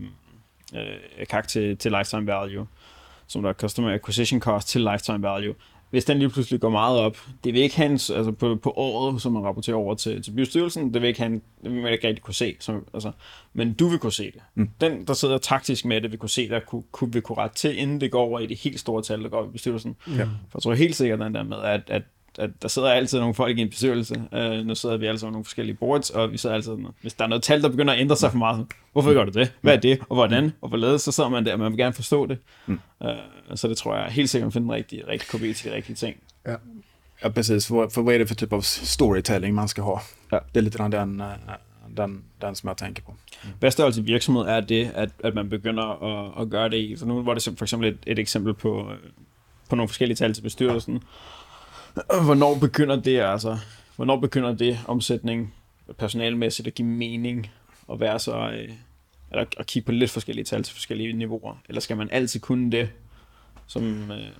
øh, C A C til, til lifetime value, som der er customer acquisition cost til lifetime value, hvis den lige pludselig går meget op, det vil ikke have en, altså på, på året, som man rapporterer over til, til bestyrelsen, det vil ikke have en, det vil man ikke rigtig kunne se, som, altså, men du vil kunne se det. Mm. Den, der sidder taktisk med det, vil kunne se det, kunne, kunne, vil kunne rette til, inden det går over i det helt store tal, der går i bestyrelsen. Mm. For jeg tror helt sikkert den der med, at, at, at der sidder altid nogle folk i en bestyrelse. Uh, nu sidder vi alle sammen nogle forskellige boards, og vi sidder altid, hvis der er noget tal, der begynder at ændre sig for meget, hvorfor gør du det? Hvad er det? Og hvordan? Og hvorledes? Så sidder man der, og man vil gerne forstå det. Mm. Uh, så det tror jeg helt sikkert, at finde den rigtige, rigtige K P I til de rigtige ting. Ja. Ja, precis. För, för vad är det för typ av storytelling man ska ha? Ja. Det är lite grann den, den, den som jag tänker på. Mm. Hvad størrelse virksomhed er det, at, at man begynder at, at gøre det i? For nu var det for eksempel et, et eksempel på, på nogle forskellige tal til bestyrelsen. Hvornår begynder det, altså, hvornår begynder det omsætning personalmæssigt at give mening at være så, eller at kigge på lidt forskellige tal til forskellige niveauer? Eller skal man altid kunne det, som... Øh...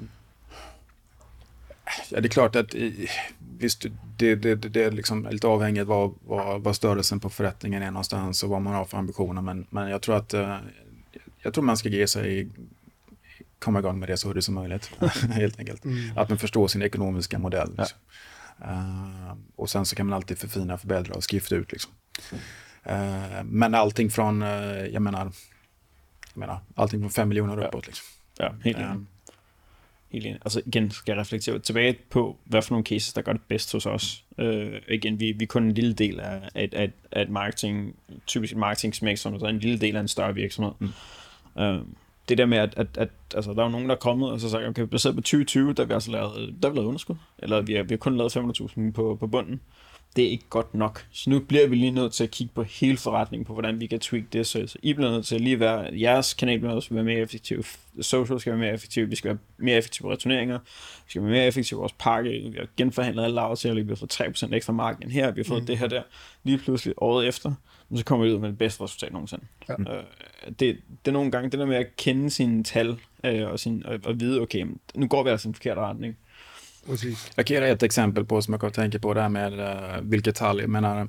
Ja, det är klart att visst, det, det, det är liksom lite avhängigt vad, vad, vad störelsen på förrättningen är någonstans och vad man har för ambitioner, men, men jag tror att jag tror man ska ge sig komma igång med det så hur det som möjligt, helt enkelt. Mm. Att man förstår sin ekonomiska modell. Liksom. Ja. Uh, och sen så kan man alltid förfina, förbättra och skifta ut. Liksom. Uh, men allting från, uh, jag menar, jag menar, allting från fem miljoner uppåt. Liksom. Ja, helt enig. Uh, helt enig. Altså igen skal jeg reflektere tilbage på, hvad for nogle cases, der gør det bedst hos os. Uh, igen, vi, vi er kun en lille del af, af, af, af et marketing, typisk et marketingsmæk, som er en lille del af en større virksomhed. Mm. Uh, det der med, at, at, at altså, der er nogen, der er kommet og så sagt, okay, baseret på tyve tyve, der har vi altså lavet, der har vi lavet underskud, eller vi har, vi har kun lavet fem hundrede tusind på, på bunden. Det er ikke godt nok. Så nu bliver vi lige nødt til at kigge på hele forretningen, på hvordan vi kan tweak det, så, så I bliver nødt til at lige være, jeres kanal bliver nødt til at være mere effektiv, social skal være mere effektiv, vi skal være mere effektive på returneringer, vi skal være mere effektive på vores pakke, vi har genforhandlet alle aftaler, vi har fået tre procent ekstra margin her, vi har fået mm. det her der, lige pludselig året efter, så kommer vi ud med det bedste resultat nogensinde. Ja. Øh, det, det er nogle gange det der med at kende sine tal, øh, og, sin, og, og vide, okay, nu går vi altså i en forkert retning. Precis. Jag kan ge ett exempel på som jag kan tänka på det här med uh, vilket tal. Jag menar,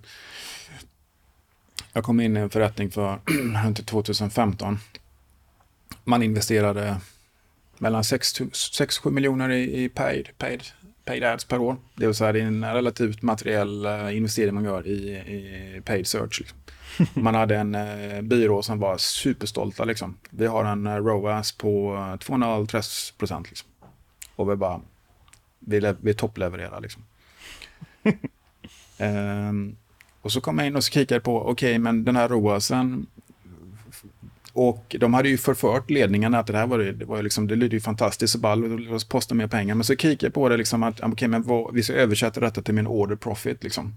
jag kom in i en förrättning för tjugo femton. Man investerade mellan sex till sju miljoner i, i paid, paid, paid ads per år. Det vill säga det är en relativt materiell uh, investering man gör i, i paid search. Liksom. Man hade en eh, byrå som var superstolta liksom. Vi har en eh, R O A S på eh, tvåhundratre procent liksom. Och vi bara, vi, le- vi topplevererar liksom. Ehm, och så kom jag in och så kikade jag på, okej, okay, men den här R O A Sen, och de hade ju förfört ledningen att det här var, det var liksom, det lydde ju fantastiskt så ball, och låt oss posta mer pengar. Men så kikade jag på det liksom att, okej, okay, men vad, vi ska översätta detta till min order profit liksom.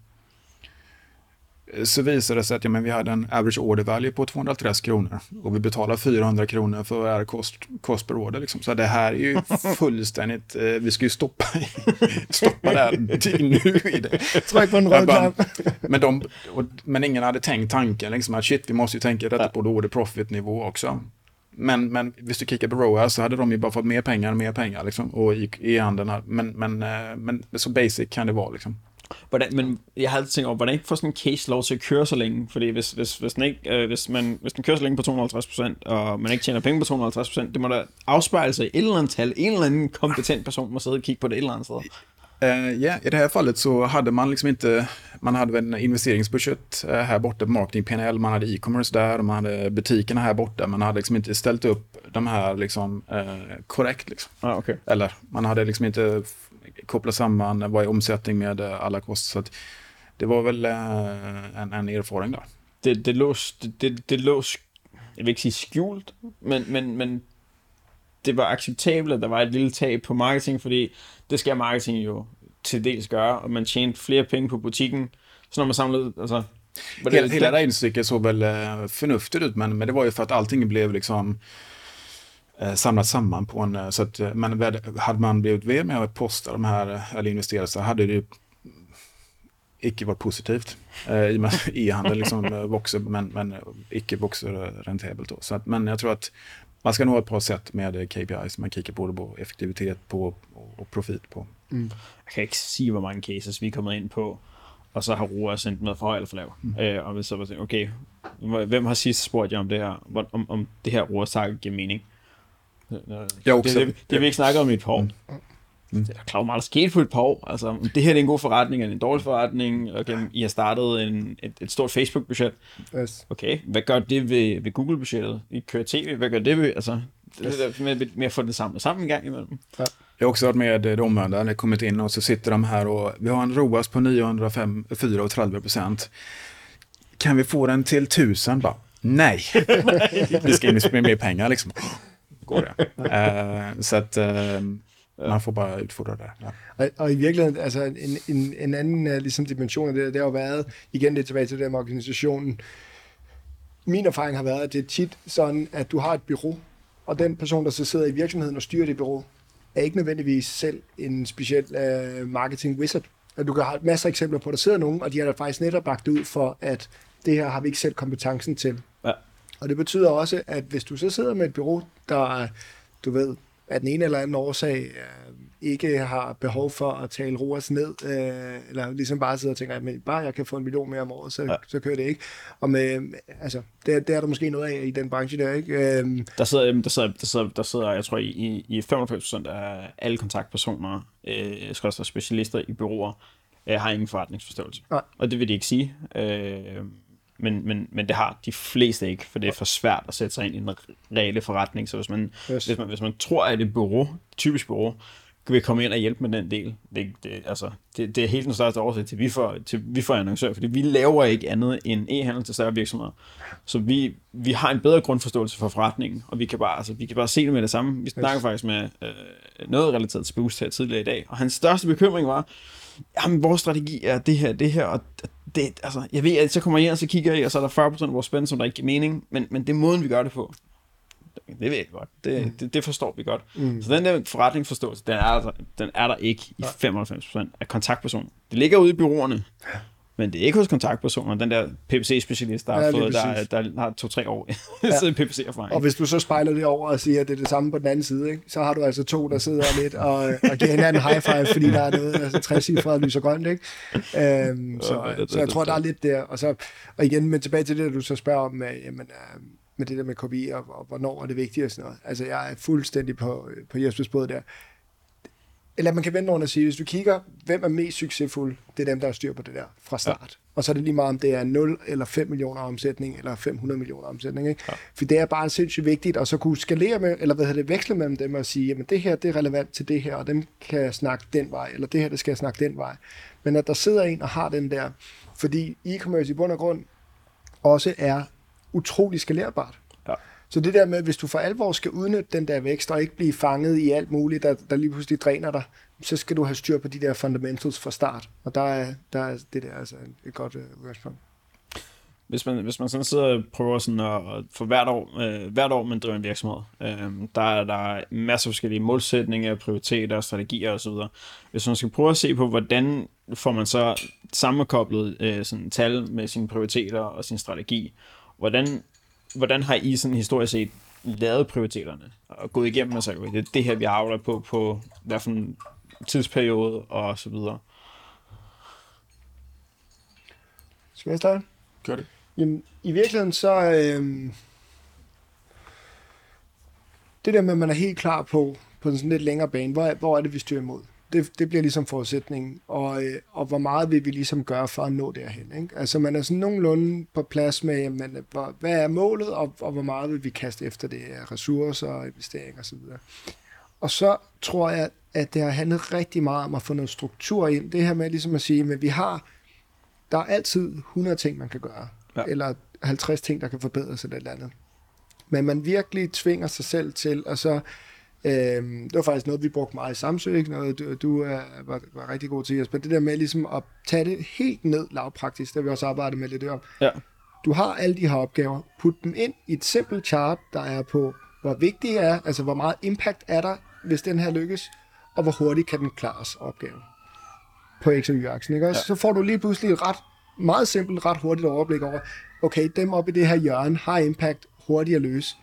Så visade det sig att ja, men vi hade en average order value på tvåhundratrettio kronor och vi betalar fyrahundra kronor för är kost, kost per order liksom. Så det här är ju fullständigt, eh, vi ska ju stoppa, stoppa det här nu i det. Tryck på en röd knapp. Men, de, och, men ingen hade tänkt tanken liksom att shit, vi måste ju tänka detta på order profit nivå också. Men, men hvis du kikar på R O A så hade de ju bara fått mer pengar och mer pengar liksom, och i, i handeln här. Men, men, eh, men så basic kan det vara liksom. Hvordan, men jeg har altid tænkt over, hvordan ikke får sådan en case lov til at køre så længe? Fordi hvis, hvis, hvis, den, ikke, øh, hvis, man, hvis den kører så længe på to hundrede og halvtreds procent, og man ikke tjener penge på to hundrede og halvtreds procent, det må da afspejle sig i et eller andet tal. En eller anden kompetent person må sidde og kigge på det et eller andet sted. Uh, ja, i det här fallet så hade man liksom inte, man hade en investeringsbudget uh, här borta på marketing P and L, man hade e-commerce där, man hade butikerna här borta, man hade liksom inte ställt upp de här liksom uh, korrekt liksom. Ah, okay. Eller man hade liksom inte f- kopplat samman vad är omsättning med uh, alla kostnader, så att det var väl uh, en, en erfaring där. Det, det lå, det, det, det lå, jeg vil ikke sige skjult, men, men, men det var acceptabelt, at der var et lille tab på marketing, fordi det skal marketing jo til dels gøre, og man tjente flere penge på butikken, så når man samlede, altså... Hela, hela det instycket såg väl uh, förnuftigt ut, men, men det var ju för att allting blev liksom uh, samlat samman på en, uh, så att, uh, men hade man blivit mer med att posta de här, uh, eller investera, så hade det ju icke varit positivt. Uh, I och med e-handel liksom uh, voxer, men, men icke voxer uh, rentabelt då. Så att, men jag tror att man ska nog ha ett par sätt med K P Is. Man kigger både på effektivitet på, og profit på. Mm. Jeg kan ikke sige, hvor mange cases vi er kommet ind på, og så har R O A sendt med for høj eller for lav. Mm. Øh, og så var det, okay, hvem har sidst spurgt jer om det her, om, om det her R O A-target giver mening? Jeg også. Det, det, det vi ikke snakket om i et par år. Mm. Mm. Det er klart meget, der skete på et par år. Altså, det her er en god forretning, eller en dårlig forretning. Okay, I har startet en, et, et stort Facebook-budget. Yes. Okay, hvad gør det ved, ved Google-budgettet? I kører tv, hvad gør det ved? Altså, yes. det er med, med at få det samlet sammen en gang imellem. Ja. Jag har också varit med det omvända, när det kommit in och så sitter de här och vi har en R O A S på niohundrafyra komma tre procent. Kan vi få den till tusen? Bara, nej. Vi ska investera mer pengar liksom. Går det? Uh, så att uh, man får bare udfordre det. Ja. Og, og i virkeligheden, altså en, en, en anden uh, ligesom dimension af det, det har jo været, igen det tilbage til det med organisationen. Min erfaring har været, at det er tit sådan, at du har et bureau, og den person, der så sidder i virksomheden og styrer det bureau, er ikke nødvendigvis selv en speciel uh, marketing wizard. At du kan have masser af eksempler på, at der sidder nogen, og de har da faktisk netop bagt ud for, at det her har vi ikke selv kompetencen til. Ja. Og det betyder også, at hvis du så sidder med et bureau, der, du ved, at den ene eller anden årsag øh, ikke har behov for at tale R O A S ned, øh, eller ligesom bare sidder og tænker, at bare jeg kan få en million mere om året, så, ja. så kører det ikke. Og med, altså, det, det er der måske noget af i den branche der, ikke? Øh, der, sidder, der, sidder, der, sidder, der sidder, jeg tror, i, i femoghalvfems procent af alle kontaktpersoner, øh, skal specialister i bureauer, øh, har ingen forretningsforståelse. Nej. Og det vil de ikke sige. Øh, Men, men, men det har de fleste ikke, for det er for svært at sætte sig ind i en reelle forretning. Så hvis man, yes. hvis man, hvis man tror, at et bureau, typisk bureau, vil komme ind og hjælpe med den del, det, det, altså, det, det er helt den største årsag til, vi får, til vi får annoncører, fordi vi laver ikke andet end e-handel til større virksomheder. Så vi, vi har en bedre grundforståelse for forretningen, og vi kan bare, altså, vi kan bare se det med det samme. Vi snakker yes. faktisk med øh, noget relateret til Boost her tidligere i dag, og hans største bekymring var, jamen, vores strategi er det her, det her, og det, altså, jeg ved, at så kommer jeg ind, og så kigger jeg, og så er der fyrre procent af vores spænd, som der ikke giver mening, men, men det er måden, vi gør det på. Det ved jeg godt. Det, mm. det, det forstår vi godt. Mm. Så den der forretningsforståelse, den er, den er der ikke i femoghalvfems procent af kontaktpersoner. Det ligger ude i bureauerne, men det er ikke hos kontaktpersoner. Den der P P C-specialist, der, ja, fået, der, der har to-tre år ja. P P C-erfaring. Og hvis du så spejler det over og siger, at det er det samme på den anden side, ikke? Så har du altså to, der sidder lidt og, og giver hinanden high five, fordi der er noget, altså tre-cifret lyser grønt, ikke? Øhm, så, ja, det, så jeg det, tror, det, der er lidt der. Og, så, og igen, men tilbage til det, du så spørger om, jamen, med det der med K P I, og, og hvornår er det vigtigt og sådan noget. Altså, jeg er fuldstændig på, på Jespers båd der. eller man kan vende rundt og sige, hvis du kigger, hvem er mest succesfuld, det er dem, der har styr på det der fra start. Ja. Og så er det lige meget, om det er nul eller fem millioner omsætning, eller fem hundrede millioner omsætning. Ikke? Ja. For det er bare sindssygt vigtigt, og så kunne skalere med, eller hvad hedder det, veksle mellem dem og sige, jamen det her, det er relevant til det her, og dem kan jeg snakke den vej, eller det her, det skal jeg snakke den vej. Men at der sidder en og har den der, fordi e-commerce i bund og grund også er utrolig skalerbart. Ja. Så det der med, hvis du for alvor skal udnytte den der vækst, og ikke blive fanget i alt muligt, der, der lige pludselig dræner dig, så skal du have styr på de der fundamentals fra start. Og der er, der er det der altså et godt udgangspunkt. Uh, hvis, man, hvis man sådan sidder og prøver sådan at, at for hvert år, øh, hvert år man driver en virksomhed, øh, der er der masser af forskellige målsætninger, prioriteter, strategier osv. Hvis man skal prøve at se på, hvordan får man så sammenkoblet øh, sådan tal med sine prioriteter og sin strategi, hvordan Hvordan har I sådan historisk set lavet prioriteterne og gået igennem og sagt, det er det her, vi arbejder på, på hvad for en tidsperiode og så videre? Skal jeg starte? Gør det. Jamen, i virkeligheden så, øh, det der med, at man er helt klar på, på sådan lidt længere bane, hvor, hvor er det, vi styrer imod? Det, det bliver ligesom forudsætningen, og, og hvor meget vil vi ligesom gøre for at nå derhen. Ikke? Altså man er sådan nogenlunde på plads med, jamen, hvor, hvad er målet, og, og hvor meget vil vi kaste efter det af ressourcer, investeringer osv. Og så tror jeg, at det har handlet rigtig meget om at få noget struktur ind. Det her med ligesom at sige, at vi har, der er altid hundrede ting, man kan gøre, ja. Eller halvtreds ting, der kan forbedres eller et eller andet. Men man virkelig tvinger sig selv til, og så Øhm, det var faktisk noget, vi brugte meget i Samsø, ikke? Noget, du, du er, var, var rigtig god til, Jesper. Det der med ligesom at tage det helt ned lavpraktisk, der vi også arbejdet med lidt om. Ja. Du har alle de her opgaver, put dem ind i et simpelt chart, der er på, hvor vigtig er, altså hvor meget impact er der, hvis den her lykkes, og hvor hurtigt kan den klares opgave på X og Y-aksen, ikke? Ja. Så får du lige pludselig et ret, meget simpelt, ret hurtigt overblik over, okay, dem oppe i det her hjørne har impact hurtigt at løse.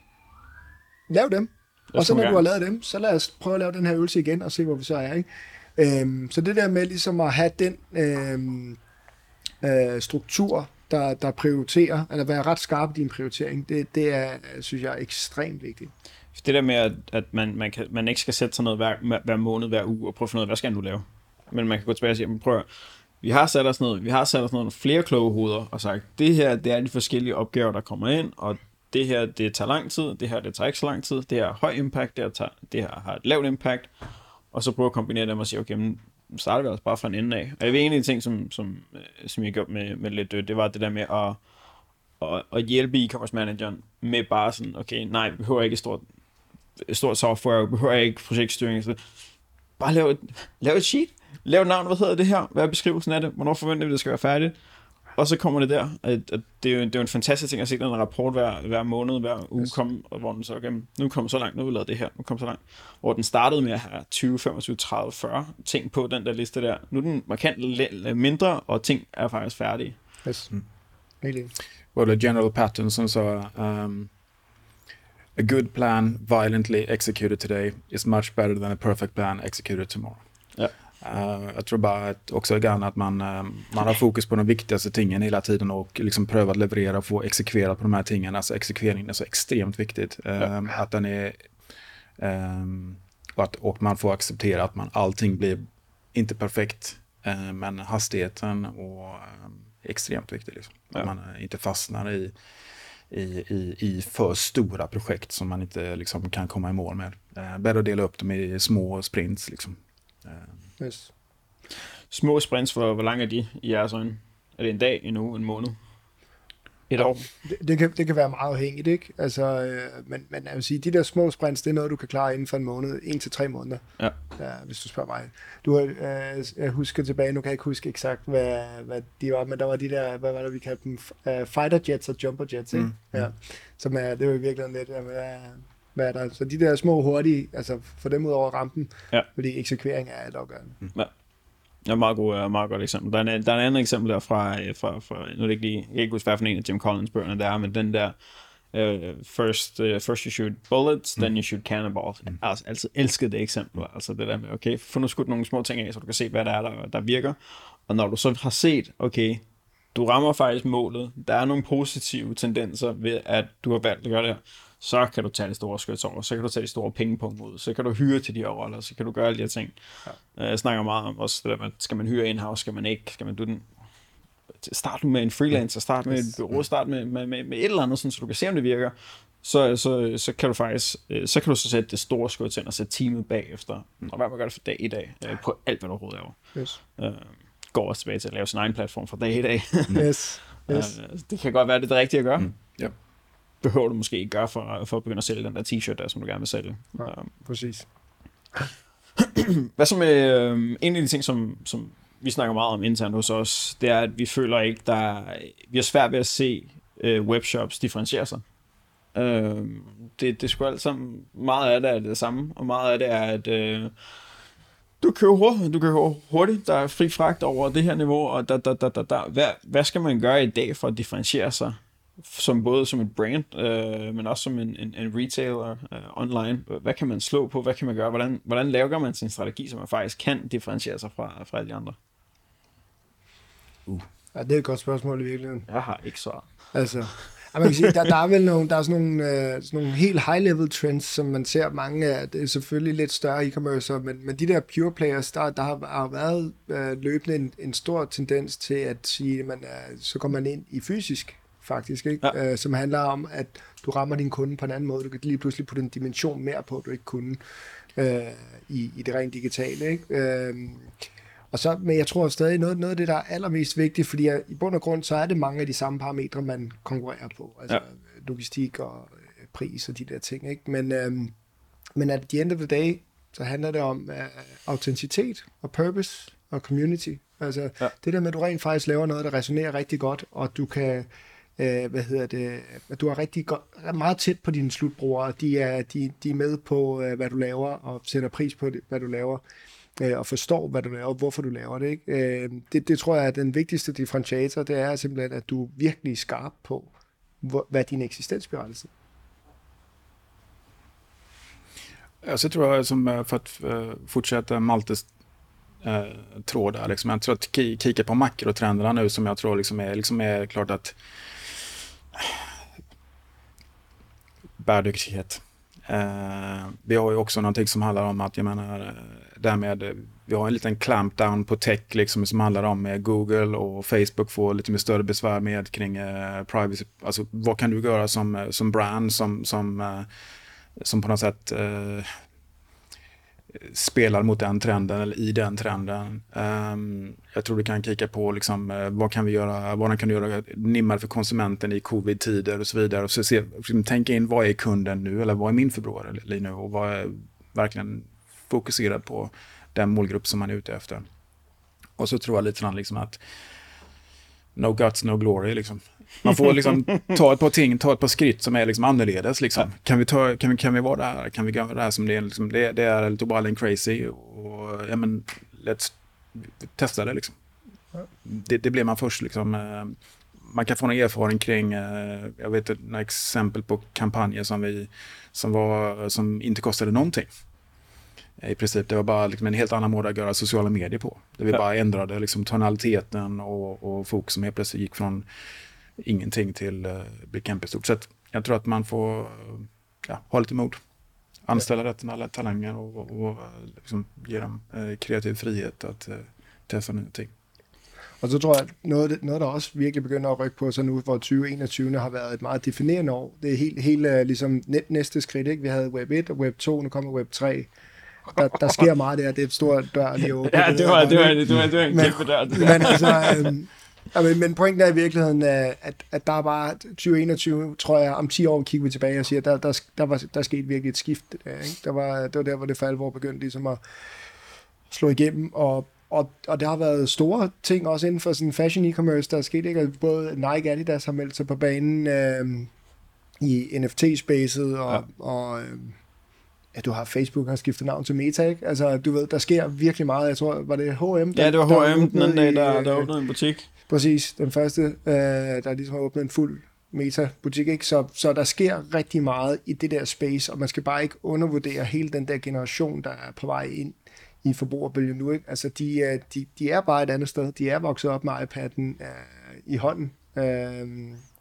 Lav dem. Og så når du har lavet dem, så lad os prøve at lave den her øvelse igen, og se, hvor vi så er. Ikke? Øhm, så det der med ligesom at have den øhm, øh, struktur, der, der prioriterer, eller være ret skarp i din prioritering, det, det er, synes jeg, er ekstremt vigtigt. Det der med, at, at man, man, kan, man ikke skal sætte sig noget hver, hver måned, hver uge, og prøve at finde ud af, hvad skal du lave? Men man kan gå tilbage og sige, prøv, vi har sat os noget, vi har sat os noget flere kloge hoveder, og sagt, det her, det er de forskellige opgaver, der kommer ind, og det her, det tager lang tid, det her, det tager ikke så lang tid, det her har høj impact, det her, tager, det her har et lavt impact, og så prøve at kombinere dem og sige, okay, men starter vi altså bare fra en ende af. Og jeg ved, en af de ting, som, som, som jeg gjorde med, med lidt, det var det der med at, at, at hjælpe e-commerce manageren med bare sådan, okay, nej, vi behøver ikke et stort, et stort software, vi behøver ikke projektstyring, så bare lave et, lave et sheet, lave et navn, hvad hedder det her, hvad er beskrivelsen af det, hvornår forventer vi, det skal være færdigt. Og så kommer det der, at, at det, er jo, det er jo en fantastisk ting at se den rapport hver, hver måned, hver uge, yes. komme, og hvor den så, okay, nu kommer så langt, nu har vi lavet det her, nu kommer så langt. Hvor den startede med at have tyve, femogtyve, tredive, fyrre ting på den der liste der. Nu er den markant mindre, og ting er faktisk færdige. Yes. Mm. Really. Well, the general pattern som så, um, a good plan violently executed today is much better than a perfect plan executed tomorrow. Ja. Uh, jag tror bara att också gärna att man, uh, man har fokus på de viktigaste tingen hela tiden och liksom prövar att leverera och få exekvera på de här tingen. Alltså exekveringen är så extremt viktigt. Uh, ja. Att den är um, och, att, och man får acceptera att man allting blir inte perfekt, uh, men hastigheten och um, extremt viktigt liksom. Ja. Att man uh, inte fastnar i I, i, i för stora projekt som man inte liksom kan komma i mål med. Uh, bättre att dela upp dem i små sprints liksom. Uh, yes. Små sprints, hvor, hvor lang er de i jeres øjne? Er det en dag, en uge, en måned? Et år? Det, det, kan, det kan være meget afhængigt, ikke? Altså, øh, men, men jeg vil sige, de der små sprints, det er noget, du kan klare inden for en måned, en til tre måneder, ja. Ja, hvis du spørger mig. Du, øh, jeg husker tilbage, nu kan jeg ikke huske eksakt, hvad, hvad de var, men der var de der, hvad var det, vi kaldte dem, uh, fighter jets og jumper jets, ikke? Mm. Ja. Som er, det var virkelig lidt, hvad er, hvad er der? Så de der små hurtige, altså få dem ud over rampen, ja. Fordi eksekvering er alt afgørende. Mm. Ja. Ja, meget, god, meget godt eksempel. Der er en, der er en anden eksempel der fra, fra, fra nu er det ikke lige, jeg kan ikke huske, hvad for en af Jim Collins bøgerne der er, men den der, uh, first, uh, first you shoot bullets, mm. then you shoot cannonballs. Jeg har altså altid elsket det eksempel, altså det der med, okay, få nu skudt nogle små ting af, så du kan se, hvad der er, der, der virker, og når du så har set, okay, du rammer faktisk målet, der er nogle positive tendenser ved, at du har valgt at gøre det her, så kan du tage det store skyts over, så kan du tage de store pengepunkt ud, så kan du hyre til de her roller, så kan du gøre alle de her ting. Ja. Jeg snakker meget om også det der med, skal man hyre in-house, skal man ikke, skal man do den. Start med en freelancer, start med et bureau, start med, med, med, med et eller andet, sådan, så du kan se, om det virker. Så, så, så kan du faktisk, så kan du så sætte det store skud til og sætte teamet bagefter, og hvad man gør det for dag i dag, på alt, hvad du overhovedet laver. Yes. Uh, går også tilbage til at lave sin egen platform fra dag i dag. Yes. Yes. Uh, det kan godt være, det er det rigtige at gøre. Mm. Yep. Behøver du måske ikke gøre for, for at begynde at sælge den der t-shirt der, som du gerne vil sælge. Ja, uh, præcis. Hvad så med uh, en af de ting, som, som vi snakker meget om internt hos os, det er, at vi føler ikke, der vi har svært ved at se uh, webshops differentiere sig. Uh, det, det er sgu alt sammen, meget af det er det samme, og meget af det er, at uh, du køber hurtigt, du køber hurtigt, der er fri fragt over det her niveau, og da, da, da, da, da. Hvad, hvad skal man gøre i dag for at differentiere sig, som både som et brand, uh, men også som en, en, en retailer uh, online? Hvad kan man slå på, hvad kan man gøre, hvordan, hvordan laver man sin strategi, så man faktisk kan differentiere sig fra, fra alle de andre? Uh. Ja, det er et godt spørgsmål i virkeligheden. Jeg har ikke svaret. Altså... Man kan sige, der, der er vel nogle, der er sådan nogle, øh, sådan nogle helt high-level trends, som man ser mange af. Det er selvfølgelig lidt større e-commerce, men, men de der pure players, der, der har, har været øh, løbende en, en stor tendens til at sige, at man er, så kommer man ind i fysisk, faktisk, ikke? Ja. Øh, som handler om, at du rammer din kunde på en anden måde. Du kan lige pludselig putte en dimension mere på, du ikke kunne øh, i, i det rent digitale, ikke? Øh, Og så, men jeg tror stadig, noget, noget af det, der er allermest vigtigt, fordi jeg, i bund og grund, så er det mange af de samme parametre, man konkurrerer på. Altså ja. Logistik og øh, pris og de der ting. Ikke? Men, øhm, men at the end of the day, så handler det om øh, autenticitet og purpose og community. Altså ja. Det der med, at du rent faktisk laver noget, der resonerer rigtig godt, og du kan, øh, hvad hedder det, at du er rigtig godt, meget tæt på dine slutbrugere. De er, de, de er med på, øh, hvad du laver, og sætter pris på, det, hvad du laver. Og forstår, hvad du laver, og hvorfor du laver det. Ikke? Det, det tror jeg er den vigtigste differentiator, det er simpelthen, at du er virkelig skarp på, hvor, hvad din eksistensberettigelse er. Ja, så tror jag, som för att uh, fortsätta Maltes uh, tråd där, liksom, jag tror att k- kika på makrotrenderna nu, som jag tror liksom är, liksom är klart att bärdygtighet. Uh, vi har ju också någonting som handlar om att, jag menar, därmed, vi har en liten clampdown på tech liksom, som handlar om eh, Google och Facebook får lite mer större besvär med kring eh, privacy. Alltså vad kan du göra som, som brand som, som, eh, som på något sätt eh, spelar mot den trenden eller i den trenden. Um, jag tror du kan kika på liksom, eh, vad kan vi göra, vad kan du göra nimmare för konsumenten i covid-tider och så vidare. Och så se, tänka in, vad är kunden nu eller vad är min förbrukare nu och vad är verkligen fokuserad på den målgrupp som man är ute efter. Och så tror jag lite grann liksom att no guts, no glory liksom. Man får liksom ta ett par ting, ta ett par skritt som är liksom annorledes liksom. Ja. Kan vi ta kan vi kan vi vara där? Kan vi göra det här som det är liksom, det, det är lite bara en crazy och ja men let's testa det liksom. Ja. Det, det blir man först liksom. Man kan få en erfarenhet kring, jag vet några exempel på kampanjer som vi som var som inte kostade någonting. I princip, det var bara liksom en helt annan måte att göra sociala medier på. Det vi ja. bara ändrade liksom tonaliteten och, och fokus som helt plötsligt gick från ingenting till uh, bli kämpestort. Så att jag tror att man får ja, ha lite mod. Anställa ja. rätt alla talanger och, och, och liksom ge dem uh, kreativ frihet att uh, testa nya ting. Og så tror jeg, at noget, noget der også virkelig begynder at rykke på sig nu, hvor tyve enogtyve har været et meget definerende år. Det er helt, helt ligesom næste skridt, ikke? Vi havde web et og web to, nu kommer web tre. Der, der sker meget der, det er et stort dør lige åbent. Ja, det var, det var, det var, det var en kæmpe dør. Men, men, altså, øhm, men, men pointen er i virkeligheden, at, at der er bare tyve enogtyve, tror jeg, om ti år kigger vi tilbage og siger, der, der, der, var, der skete virkelig et skift. Der, ikke? Der var, det var der, hvor det for alvor begyndte ligesom at slå igennem, og Og, og der har været store ting også inden for sådan fashion e-commerce, der er sket, ikke? Både Nike og Adidas har meldt sig på banen øh, i N F T-spacet, og, ja. og øh, ja, du har Facebook har skiftet navn til Meta, ikke? Altså, du ved, der sker virkelig meget. Jeg tror, var det H og M? Der, ja, det var H og M den anden dag, der, der åbnede en butik. Præcis, den første, øh, der ligesom har åbnet en fuld Meta-butik, ikke? Så, så der sker rigtig meget i det der space, og man skal bare ikke undervurdere hele den der generation, der er på vej ind i forbrugerbølgen nu, ikke? Altså, de, de, de er bare et andet sted. De er vokset op med iPad'en øh, i hånden. Øh,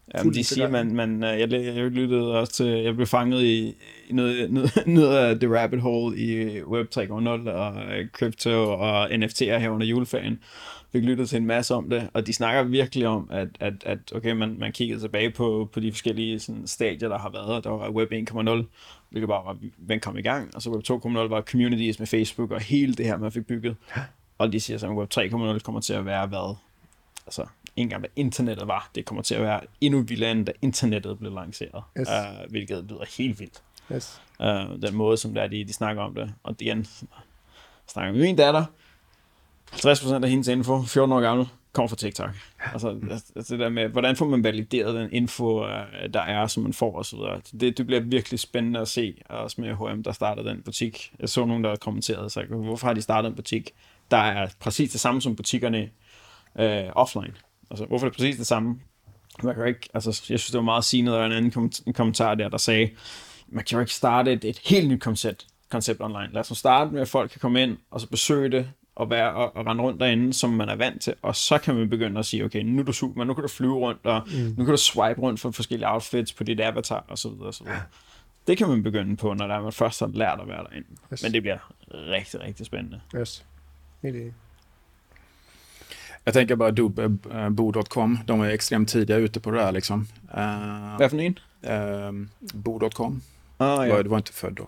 Jamen, de siger, man, man, jeg, jeg lyttede også til, jeg blev fanget i, i noget, noget, noget af the rabbit hole i Web tre punkt nul og crypto og N F T'er her under juleferien. Fik lyttet til en masse om det, og de snakker virkelig om, at, at, at okay, man, man kiggede tilbage på, på de forskellige sådan, stadier, der har været. Der var Web en punkt nul, hvilket bare var, hvem kom i gang, og så Web to punkt nul var communities med Facebook og hele det her, man fik bygget. Og de siger så, at Web tre punkt nul kommer til at være hvad? Altså, ikke engang hvad internettet var, det kommer til at være endnu vildere, end da internettet blev lanceret, yes. uh, hvilket lyder helt vildt. Yes. Uh, den måde, som der de, de snakker om det. Og igen, snakker med min datter, halvtreds procent af hendes info, fjorten år gammel, kommer fra TikTok. Altså, altså det der med, hvordan får man valideret den info, der er, som man får, og så videre. Det, det bliver virkelig spændende at se, også med H M, der startede den butik. Jeg så nogen, der kommenterede, så hvorfor har de startet en butik, der er præcis det samme som butikkerne øh, offline. Altså, hvorfor er det præcis det samme? Man kan ikke, altså, jeg synes, det var meget sigende, der var en anden kommentar der, der sagde, man kan jo ikke starte et, et helt nyt koncept, koncept online. Lad os nu starte med, at folk kan komme ind, og så besøge det, og, være, og, og rende rundt derinde, som man er vant til, og så kan man begynde at sige, okay, nu er du super, nu kan du flyve rundt, og mm. nu kan du swipe rundt for forskellige outfits på dit avatar, og så videre, og så videre. Det kan man begynde på, når der er, man først har lært at være derinde. Yes. Men det bliver rigtig, rigtig spændende. Yes. Helt enig. Jag tänker bara bo punkt com, de är extremt tidiga ute på det här liksom. Uh, Vad för en? Uh, bo punkt com. Ah, ja. Det var inte född då.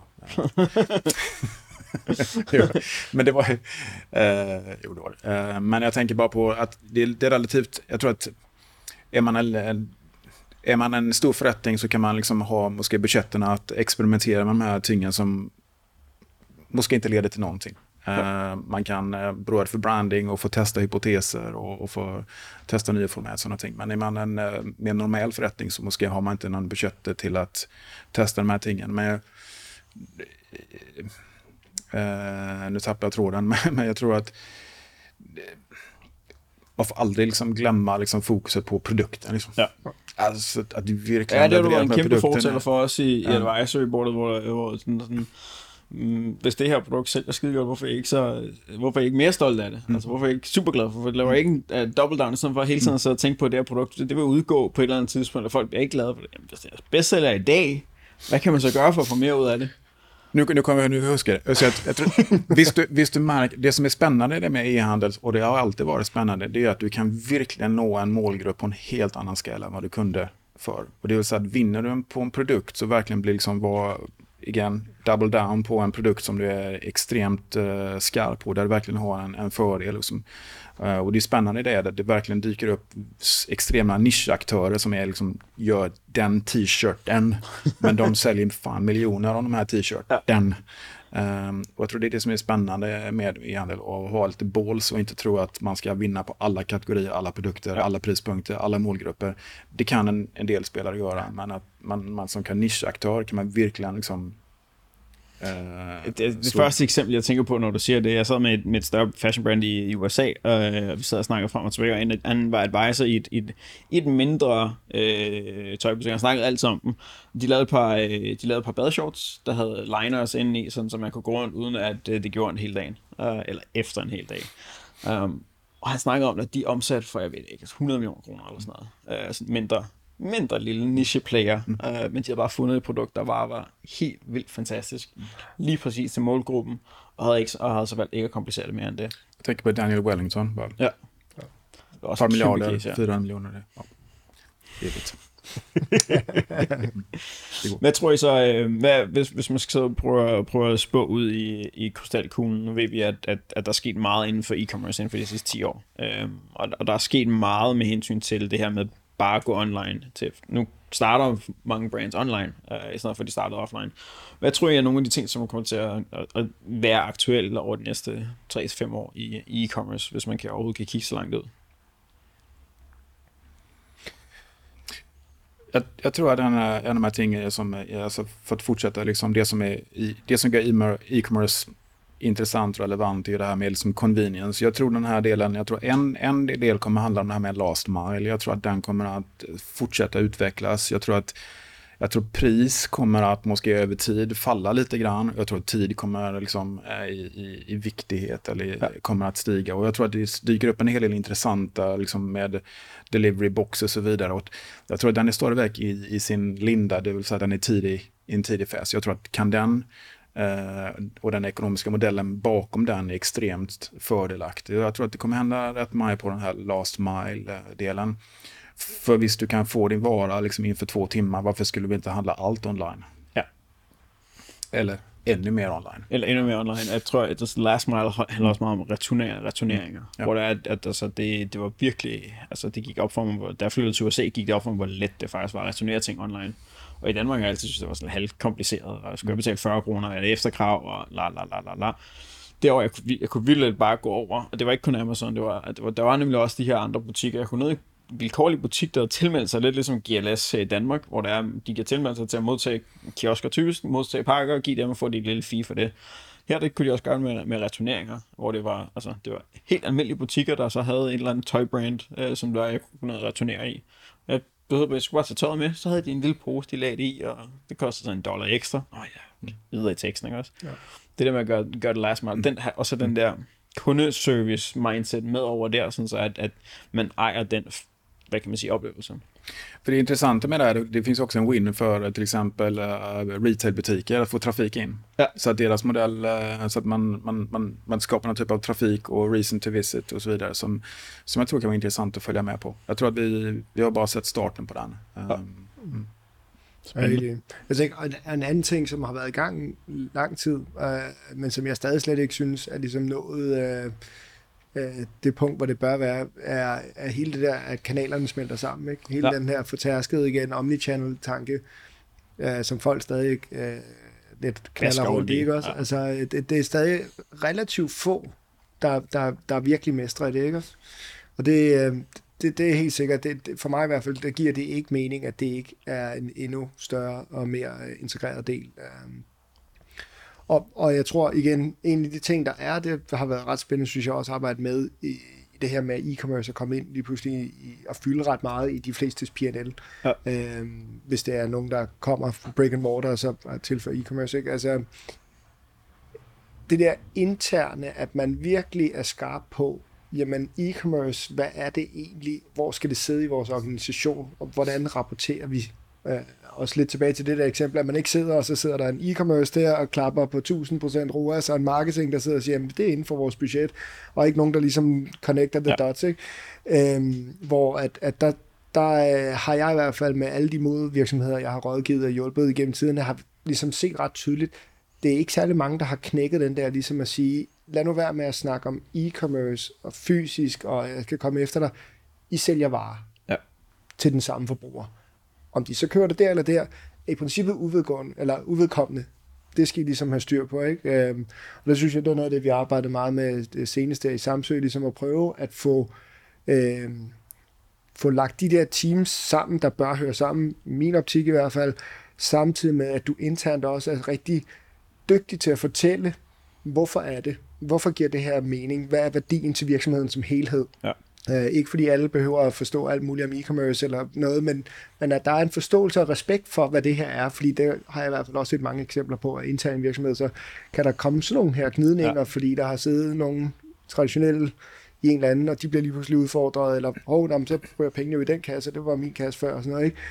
Men det var uh, jo, det var det. Uh, men jag tänker bara på att det, det är relativt, jag tror att är man en, är man en stor förrättning så kan man liksom ha måske budgeterna att experimentera med de här tingen som måske inte leder till någonting. Uh, man kan uh, bråda för branding och få testa hypoteser och, och få testa nya format och sådana ting. Men är man en uh, mer normal förrättning så måske har man inte någon budget till att testa de här tingen. Men uh, nu tappar jag tråden, men, men jag tror att man får aldrig liksom glömma liksom fokuset på produkten. Liksom. Ja. Altså, at de virkelig ja, det var en kæmpe fortæller for os i, ja. i advisory-bordet, hvor, hvor sådan, sådan, mm, hvis det her produkt selv er skide godt, hvorfor er I ikke, så, hvorfor er I ikke mere stolt af det? Mm. Altså, hvorfor er I ikke super glad for? Hvorfor laver I ikke en uh, double down, sådan for hele tiden at tænke på, at det her produkt, det, det vil udgå på et eller andet tidspunkt, og folk bliver ikke glade for det. Jamen, hvis det er bestseller i dag, hvad kan man så gøre for at få mere ud af det? Nu, nu kommer jag nu huska det. Så jag, jag tror, visst, du, visst du märker, det som är spännande det med e-handel, och det har alltid varit spännande, det är att du kan verkligen nå en målgrupp på en helt annan skala än vad du kunde för. Och det vill säga att vinner du på en produkt så verkligen blir liksom vad, igen, double down på en produkt som du är extremt uh, skarp på, där du verkligen har en, en fördel. Liksom. Uh, och det är spännande i det att det verkligen dyker upp extrema nischaktörer som är liksom, gör den t-shirten, men de säljer fan miljoner av de här t-shirten. Um, och jag tror det är det som är spännande med e-handel, att ha lite balls och inte tro att man ska vinna på alla kategorier, alla produkter, alla prispunkter, alla målgrupper. Det kan en, en del spelare göra, men att man, man som kan nischaktör kan man verkligen liksom Uh, det, det, det første eksempel, jeg tænker på, når du siger det, jeg sad med et, med et større fashion brand i, i U S A, og vi sad og snakkede frem og tilbage, og en, han var advisor i et, i et, i et mindre øh, tøjbutik, han snakkede altid om dem. De lavede et par, øh, de lavede et par badeshorts, der havde liners inde i, sådan, så man kunne gå rundt, uden at øh, det gjorde en hel dag, øh, eller efter en hel dag. Um, og han snakkede om, at de omsatte for, jeg ved ikke, hundrede millioner kroner eller sådan noget, øh, sådan mindre mindre lille niche-player, mm. uh, men de har bare fundet et produkt, der bare var helt vildt fantastisk. Lige præcis til målgruppen, og havde, ikke, og havde så valgt ikke at komplicere det mere end det. Jeg tænker på Daniel Wellington. Bare. Ja. Det var også et milliarder, case, ja. fire hundrede millioner. Det, ja. Det er lidt. Hvad tror I så, hvad, hvis, hvis man skal prøve, prøve at spå ud i, i krystalkuglen, nu ved vi, at, at, at der er sket meget inden for e-commerce inden for de sidste ti år, øhm, og, og der er sket meget med hensyn til det her med bare gå online. Til. Nu starter mange brands online, uh, i stedet for at de starter offline. Hvad tror I er nogle af de ting, som kommer til at, at, at være aktuelle over de næste tre til fem år i, i e-commerce, hvis man kan overhovedet kan kigge så langt ud? Jag, jag tror att en, en av de här tingen som är, alltså för att fortsätta liksom det som är i, det som gör e-commerce intressant och relevant är det här med liksom convenience. Jag tror den här delen, jag tror en, en del kommer handla om det här med last mile. Jag tror att den kommer att fortsätta utvecklas. Jag tror att jag tror pris kommer att måske över tid falla lite grann. Jag tror att tid kommer liksom i, i, i viktighet eller ja. kommer att stiga. Och jag tror att det dyker upp en hel del intressanta liksom med delivery box och så vidare. Och jag tror att den är stadigväck i, i sin linda, det vill säga den är tidig, i en tidig fas. Jag tror att kan den eh, och den ekonomiska modellen bakom den är extremt fördelaktig. Jag tror att det kommer hända rätt mycket på den här last mile-delen. För visst du kan få din vara liksom inför två timmar, varför skulle vi inte handla allt online? Ja. Eller ännu mer online. Eller endnu mere online. Jeg tror, at det last mile handler også meget om returner, returneringer. Mm. Ja. Hvor det er, at, at altså, det, det var virkelig, altså det gik op for mig, hvor, da jeg flyttede til U S A, gik det op for mig, hvor let det faktisk var at returnere ting online. Og i Danmark har jeg altid synes, det var sådan halvt kompliceret, og jeg skulle betale fyrre kroner, og det efterkrav, og la la la la la. Derovre, jeg kunne, jeg kunne vildt bare gå over, og det var ikke kun Amazon, det var, det var, der var nemlig også de her andre butikker. Jeg kunne ned vilkårlig butik, der havde tilmeldt sig lidt ligesom G L S i Danmark, hvor der er, de kan tilmelde sig til at modtage kiosker typisk, modtage pakker og give dem og få de et lille fee for det. Her det kunne de også gøre med, med returneringer, hvor det var, altså, det var helt almindelige butikker, der så havde et eller andet tøjbrand, øh, som der jeg kunne returnere i. Jeg behøvede, jeg skulle bare tage tøjet med, så havde de en lille pose, de lagde det i, og det kostede så en dollar ekstra. Åh oh, ja, videre i teksten, ikke også? Ja. Det der med at gøre, gøre det last mile, den her, og så den der kundeservice mindset med over der, sådan så at, at man ejer den, vad kan man säga, upplevelsen. För det intressanta med det här, det finns också en win för till exempel uh, retailbutiker att få trafik in. Ja. Så att deras modell, uh, så att man, man, man, man skapar någon typ av trafik och reason to visit och så vidare som, som jag tror kan vara intressant att följa med på. Jag tror att vi, vi har bara sett starten på den. Ja. Um, mm. Spændende. Jeg tænker, en anden ting, som har været i gang lang tid, øh, men som jeg stadig slet ikke synes er ligesom nået øh, det punkt, hvor det bør være, er, er hele det der, at kanalerne smelter sammen. Ikke? Hele ja. den her fortærskede igen omnichannel-tanke, øh, som folk stadig øh, lidt kalder rundt, ikke også? Ja. Altså, det, det er stadig relativt få, der, der, der virkelig mestrer det, ikke også? Og det, øh, det, det er helt sikkert, det, det, for mig i hvert fald, der giver det ikke mening, at det ikke er en endnu større og mere integreret del. Og, og jeg tror igen, en af de ting, der er, det har været ret spændende, synes jeg også, at arbejde med i, i det her med e-commerce at komme ind lige pludselig i, og fylde ret meget i de flestes P and L. Ja. Øhm, hvis det er nogen, der kommer fra brick and mortar, og så tilføjer e-commerce. Ikke? Altså, det der interne, at man virkelig er skarp på, jamen e-commerce, hvad er det egentlig? Hvor skal det sidde i vores organisation? Og hvordan rapporterer vi? Øh, også lidt tilbage til det der eksempel, at man ikke sidder, og så sidder der en e-commerce der og klapper på tusind procent R O A S, og en marketing, der sidder og siger, jamen det er inden for vores budget, og ikke nogen, der ligesom connecter the ja. dots, ikke? Øhm, hvor at, at der, der øh, har jeg i hvert fald med alle de modvirksomheder, jeg har rådgivet og hjulpet igennem tiden, har ligesom set ret tydeligt, det er ikke særlig mange, der har knækket den der, ligesom at sige, lad nu være med at snakke om e-commerce og fysisk, og jeg skal komme efter dig. I sælger varer ja. til den samme forbruger. Om de så kører det der eller der, er i princippet uvedgående, eller uvedkommende. Det skal I ligesom have styr på, ikke? Øhm, og der synes jeg, det er noget af det, vi har arbejdet meget med det seneste i Samsø, ligesom at prøve at få, øhm, få lagt de der teams sammen, der bør høre sammen, i min optik i hvert fald, samtidig med, at du internt også er rigtig dygtig til at fortælle, hvorfor er det? Hvorfor giver det her mening? Hvad er værdien til virksomheden som helhed? Ja. Uh, ikke fordi alle behøver at forstå alt muligt om e-commerce eller noget, men, men at der er en forståelse og respekt for, hvad det her er, fordi det har jeg i hvert fald også set mange eksempler på, at interne virksomheder, så kan der komme sådan nogle her gnidninger, ja. fordi der har siddet nogle traditionelle i en eller anden, og de bliver lige pludselig udfordret, eller hov, oh, så bruger jeg pengene jo i den kasse, det var min kasse før, og sådan noget, ikke?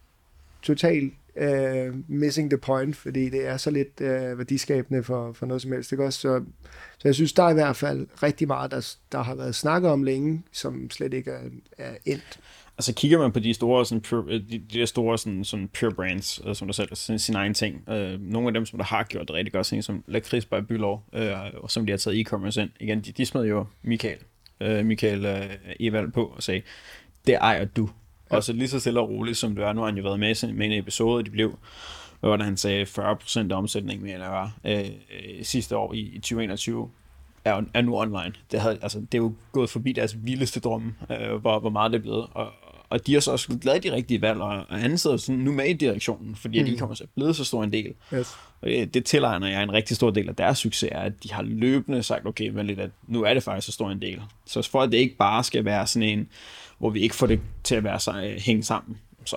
Totalt Uh, missing the point, fordi det er så lidt uh, værdiskabende for, for noget som helst, ikke også? Så, så jeg synes, der er i hvert fald rigtig meget, der, der har været snakket om længe, som slet ikke er, er endt. Altså kigger man på de store, sådan, pure, de, de der store sådan, sådan pure brands, uh, som der selv sådan, sin egen ting, uh, nogle af dem, som der har gjort det rigtig godt, sådan, som Lakrids by Bylov, uh, og som de har taget e-commerce ind, igen, de, de smed jo Michael, uh, Michael uh, Evald på og sagde, det ejer du. Og så lige så stille og roligt, som det er, nu har han jo været med, med en episode, de blev, hvor han sagde fyrre procent af omsætningen, mener jeg var, øh, sidste år i, i tyve enogtyve, er, er nu online. Det, havde, altså, det er jo gået forbi deres vildeste drømme, øh, hvor, hvor meget det er blevet. Og, og de har så også lavet de rigtige valg, og han sidder sådan nu med i direktionen, fordi mm. de kommer så blevet så stor en del. Yes. Og det, det tilegner jeg en rigtig stor del af deres succes, er, at de har løbende sagt, okay, men lidt, at nu er det faktisk så stor en del. Så for at det ikke bare skal være sådan en, hvor vi ikke får det til at være så, hænge sammen, så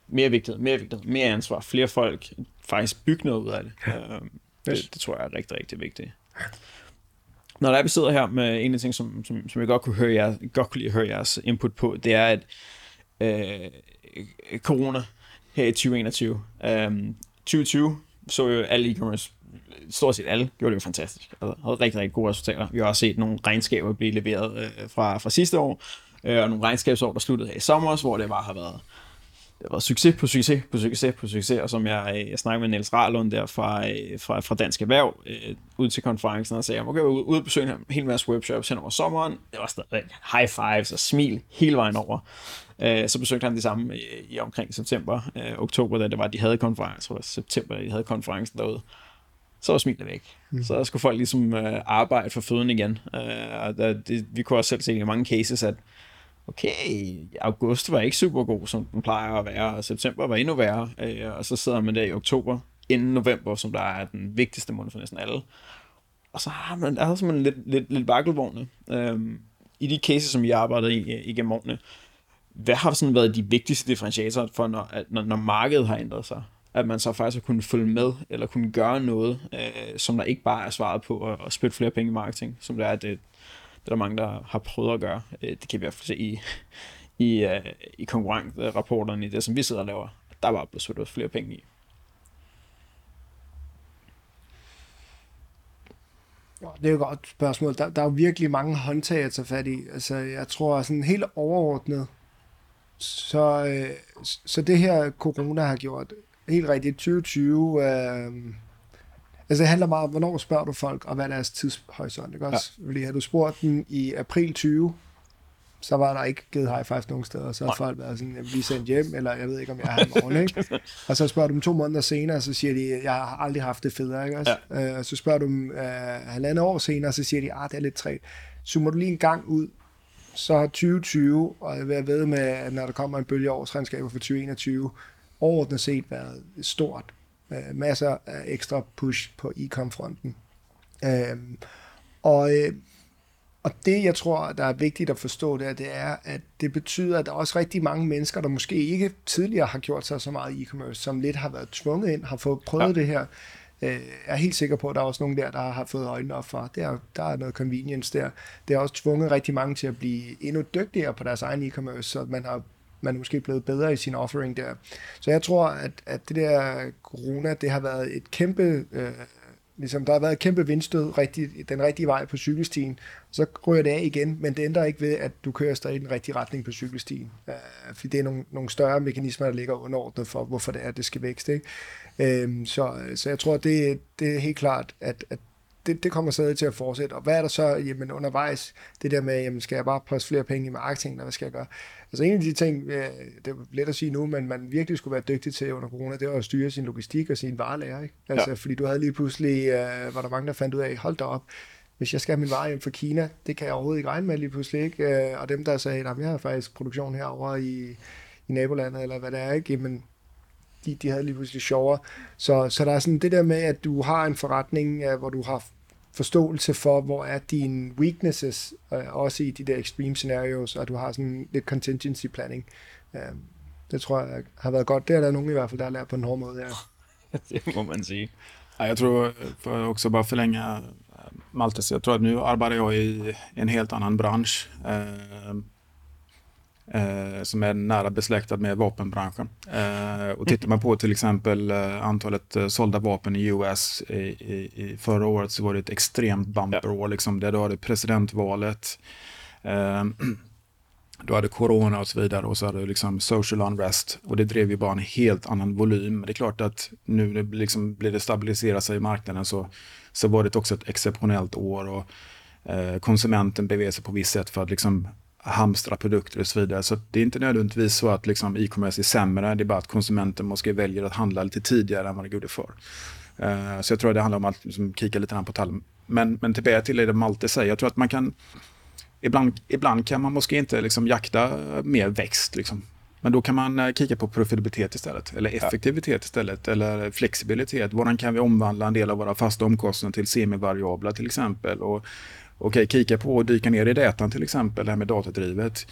mere vigtighed, mere vigtighed, mere ansvar, flere folk faktisk bygge noget ud af det. Ja. Øhm, det, det tror jeg er rigtig, rigtig vigtigt. Når der er, vi sidder her med en af de ting, som, som, som jeg godt kunne, høre jer, godt kunne lide at høre jeres input på, det er, at øh, corona her i tyve enogtyve, øh, tyve tyve så jo alle e-commerce, stort set alle, gjorde det jo fantastisk. Altså, havde rigtig, rigtig gode resultater. Vi har også set nogle regnskaber blive leveret øh, fra, fra sidste år, øh, og nogle regnskabsår, der sluttede her i sommer, hvor det bare har været det var succes på succes på succes på succes, og som jeg, jeg snakkede med Niels Rahlund der fra, fra, fra Dansk Erhverv øh, ud til konferencen og sagde, jeg må gå ud og besøge en hel masse webshops hen over sommeren. Det var stadig high fives og smil hele vejen over. Øh, så besøgte han det samme i, i omkring september, øh, oktober, da det var, de havde konferencen, det var september, de havde konferencen derude. Så var smilet væk. Mm. Så skulle folk ligesom øh, arbejde for føden igen. Øh, og der, det, vi kunne også selv se i mange cases, at okay, august var ikke super god, som den plejer at være, og september var endnu værre, øh, og så sidder man der i oktober, inden november, som der er den vigtigste måned for næsten alle. Og så har man, der er simpelthen lidt, lidt, lidt vakkelvogne. Øhm, I de cases, som I arbejdede i igennem årene, hvad har sådan været de vigtigste differentiatorer for, når, at, når, når markedet har ændret sig? At man så faktisk har kunnet følge med, eller kunne gøre noget, øh, som der ikke bare er svaret på at, at spytte flere penge i marketing, som det er, at det Det er der mange, der har prøvet at gøre. Det kan vi i hvert fald se i, i, uh, i konkurrencerapporterne, i det, som vi sidder og laver. Der var blevet svært flere penge i. Det er jo et godt spørgsmål. Der, der er jo virkelig mange håndtag at tage fat i. Altså, jeg tror sådan helt overordnet, så, øh, så det her corona har gjort helt rigtigt tyve tyve... Øh, Altså det handler meget om, hvornår spørger du folk, og hvad er deres tidshorisont, ikke også? Ja. Fordi har du spurgt dem i april tyve, så var der ikke givet high five nogen steder, så har folk været sådan, vi er sendt hjem, eller jeg ved ikke, om jeg er her i morgen, ikke? Og så spørger du dem to måneder senere, så siger de, jeg har aldrig haft det federe, ikke også? Ja. Uh, så spørger du dem uh, halvandet år senere, så siger de, ah, det er lidt træt. Zoomer du lige en gang ud, så har tyve tyve, og jeg vil ved med, at når der kommer en bølge årsregnskaber for tyve enogtyve, overordnet set været stort. Uh, masser af ekstra push på e-com-fronten. Uh, og, uh, og det, jeg tror, der er vigtigt at forstå, det er, det er, at det betyder, at der er også rigtig mange mennesker, der måske ikke tidligere har gjort sig så meget e-commerce, som lidt har været tvunget ind, har fået prøvet ja. det her. Uh, jeg er helt sikker på, at der er også nogen der, der har fået øjnene op for. Der, der er noget convenience der. Det har også tvunget rigtig mange til at blive endnu dygtigere på deres egen e-commerce, så man har man er måske blevet bedre i sin offering der. Så jeg tror, at, at det der corona, det har været et kæmpe, øh, ligesom der har været et kæmpe vindstød rigtig, den rigtige vej på cykelstien, så ryger det af igen, men det ændrer ikke ved, at du kører stadig i den rigtige retning på cykelstien. Øh, fordi det er nogle, nogle større mekanismer, der ligger underordnet for, hvorfor det er, at det skal vækste. Ikke? Øh, så, så jeg tror, det, det er helt klart, at, at Det, det kommer stadig til at fortsætte. Og hvad er der så jamen, undervejs? Det der med, jamen, skal jeg bare poste flere penge i marketing, eller hvad skal jeg gøre? Altså en af de ting, det er let at sige nu, men man virkelig skulle være dygtig til under corona, det var at styre sin logistik og sin varelager. Ikke? Altså, ja. Fordi du havde lige pludselig, uh, var der mange, der fandt ud af, hold da op, hvis jeg skal have min vare hjem fra Kina, det kan jeg overhovedet ikke regne med lige pludselig. Ikke? Uh, og dem, der sagde, at jeg har faktisk produktion herovre i, i nabolandet, eller hvad det er, ikke? Jamen, de, de havde lige pludselig sjovere. Så, så der er sådan det der med, at du har en forretning, uh, hvor du har forståelse for, hvor er dine weaknesses, uh, også i de der extreme scenarios, og du har sådan lidt contingency planning. Uh, det tror jeg har været godt. Det er der nogen i hvert fald, der har lært på en hård måde. Ja. Det må man sige. Ja, jag tror, för att också bara förlänga Maltes, jag tror att nu arbetar jag i en helt annan bransch eh, eh, som är nära besläktad med vapenbranschen. Eh, och tittar man på till exempel eh, antalet eh, sålda vapen i U S i, i, i förra året, så var det ett extremt bumperår. Liksom, där du hade presidentvalet, eh, du hade corona och så vidare, och så hade du liksom social unrest, och det drev ju bara en helt annan volym. Men det är klart att nu det liksom blir det stabilisera sig i marknaden, så, så var det också ett exceptionellt år, och eh, konsumenten beväger sig på visst sätt för att liksom hamstra produkter och så vidare. Så det är inte nödvändigtvis så att liksom e-commerce är sämre, det är bara att konsumenten måste välja att handla lite tidigare än vad det gjorde förr. Uh, så jag tror det handlar om att liksom kika lite grann på tallen. Men, men tillbaka till det Malte säger, jag tror att man kan ibland, ibland kan man måske inte liksom jakta mer växt liksom. Men då kan man uh, kika på profitabilitet istället, eller effektivitet istället, eller flexibilitet. Hvordan kan vi omvandla en del av våra fasta omkostnader till semivariabla till exempel, och okej, okay, kika på och dyka ner i datan till exempel, det här med datadrivet.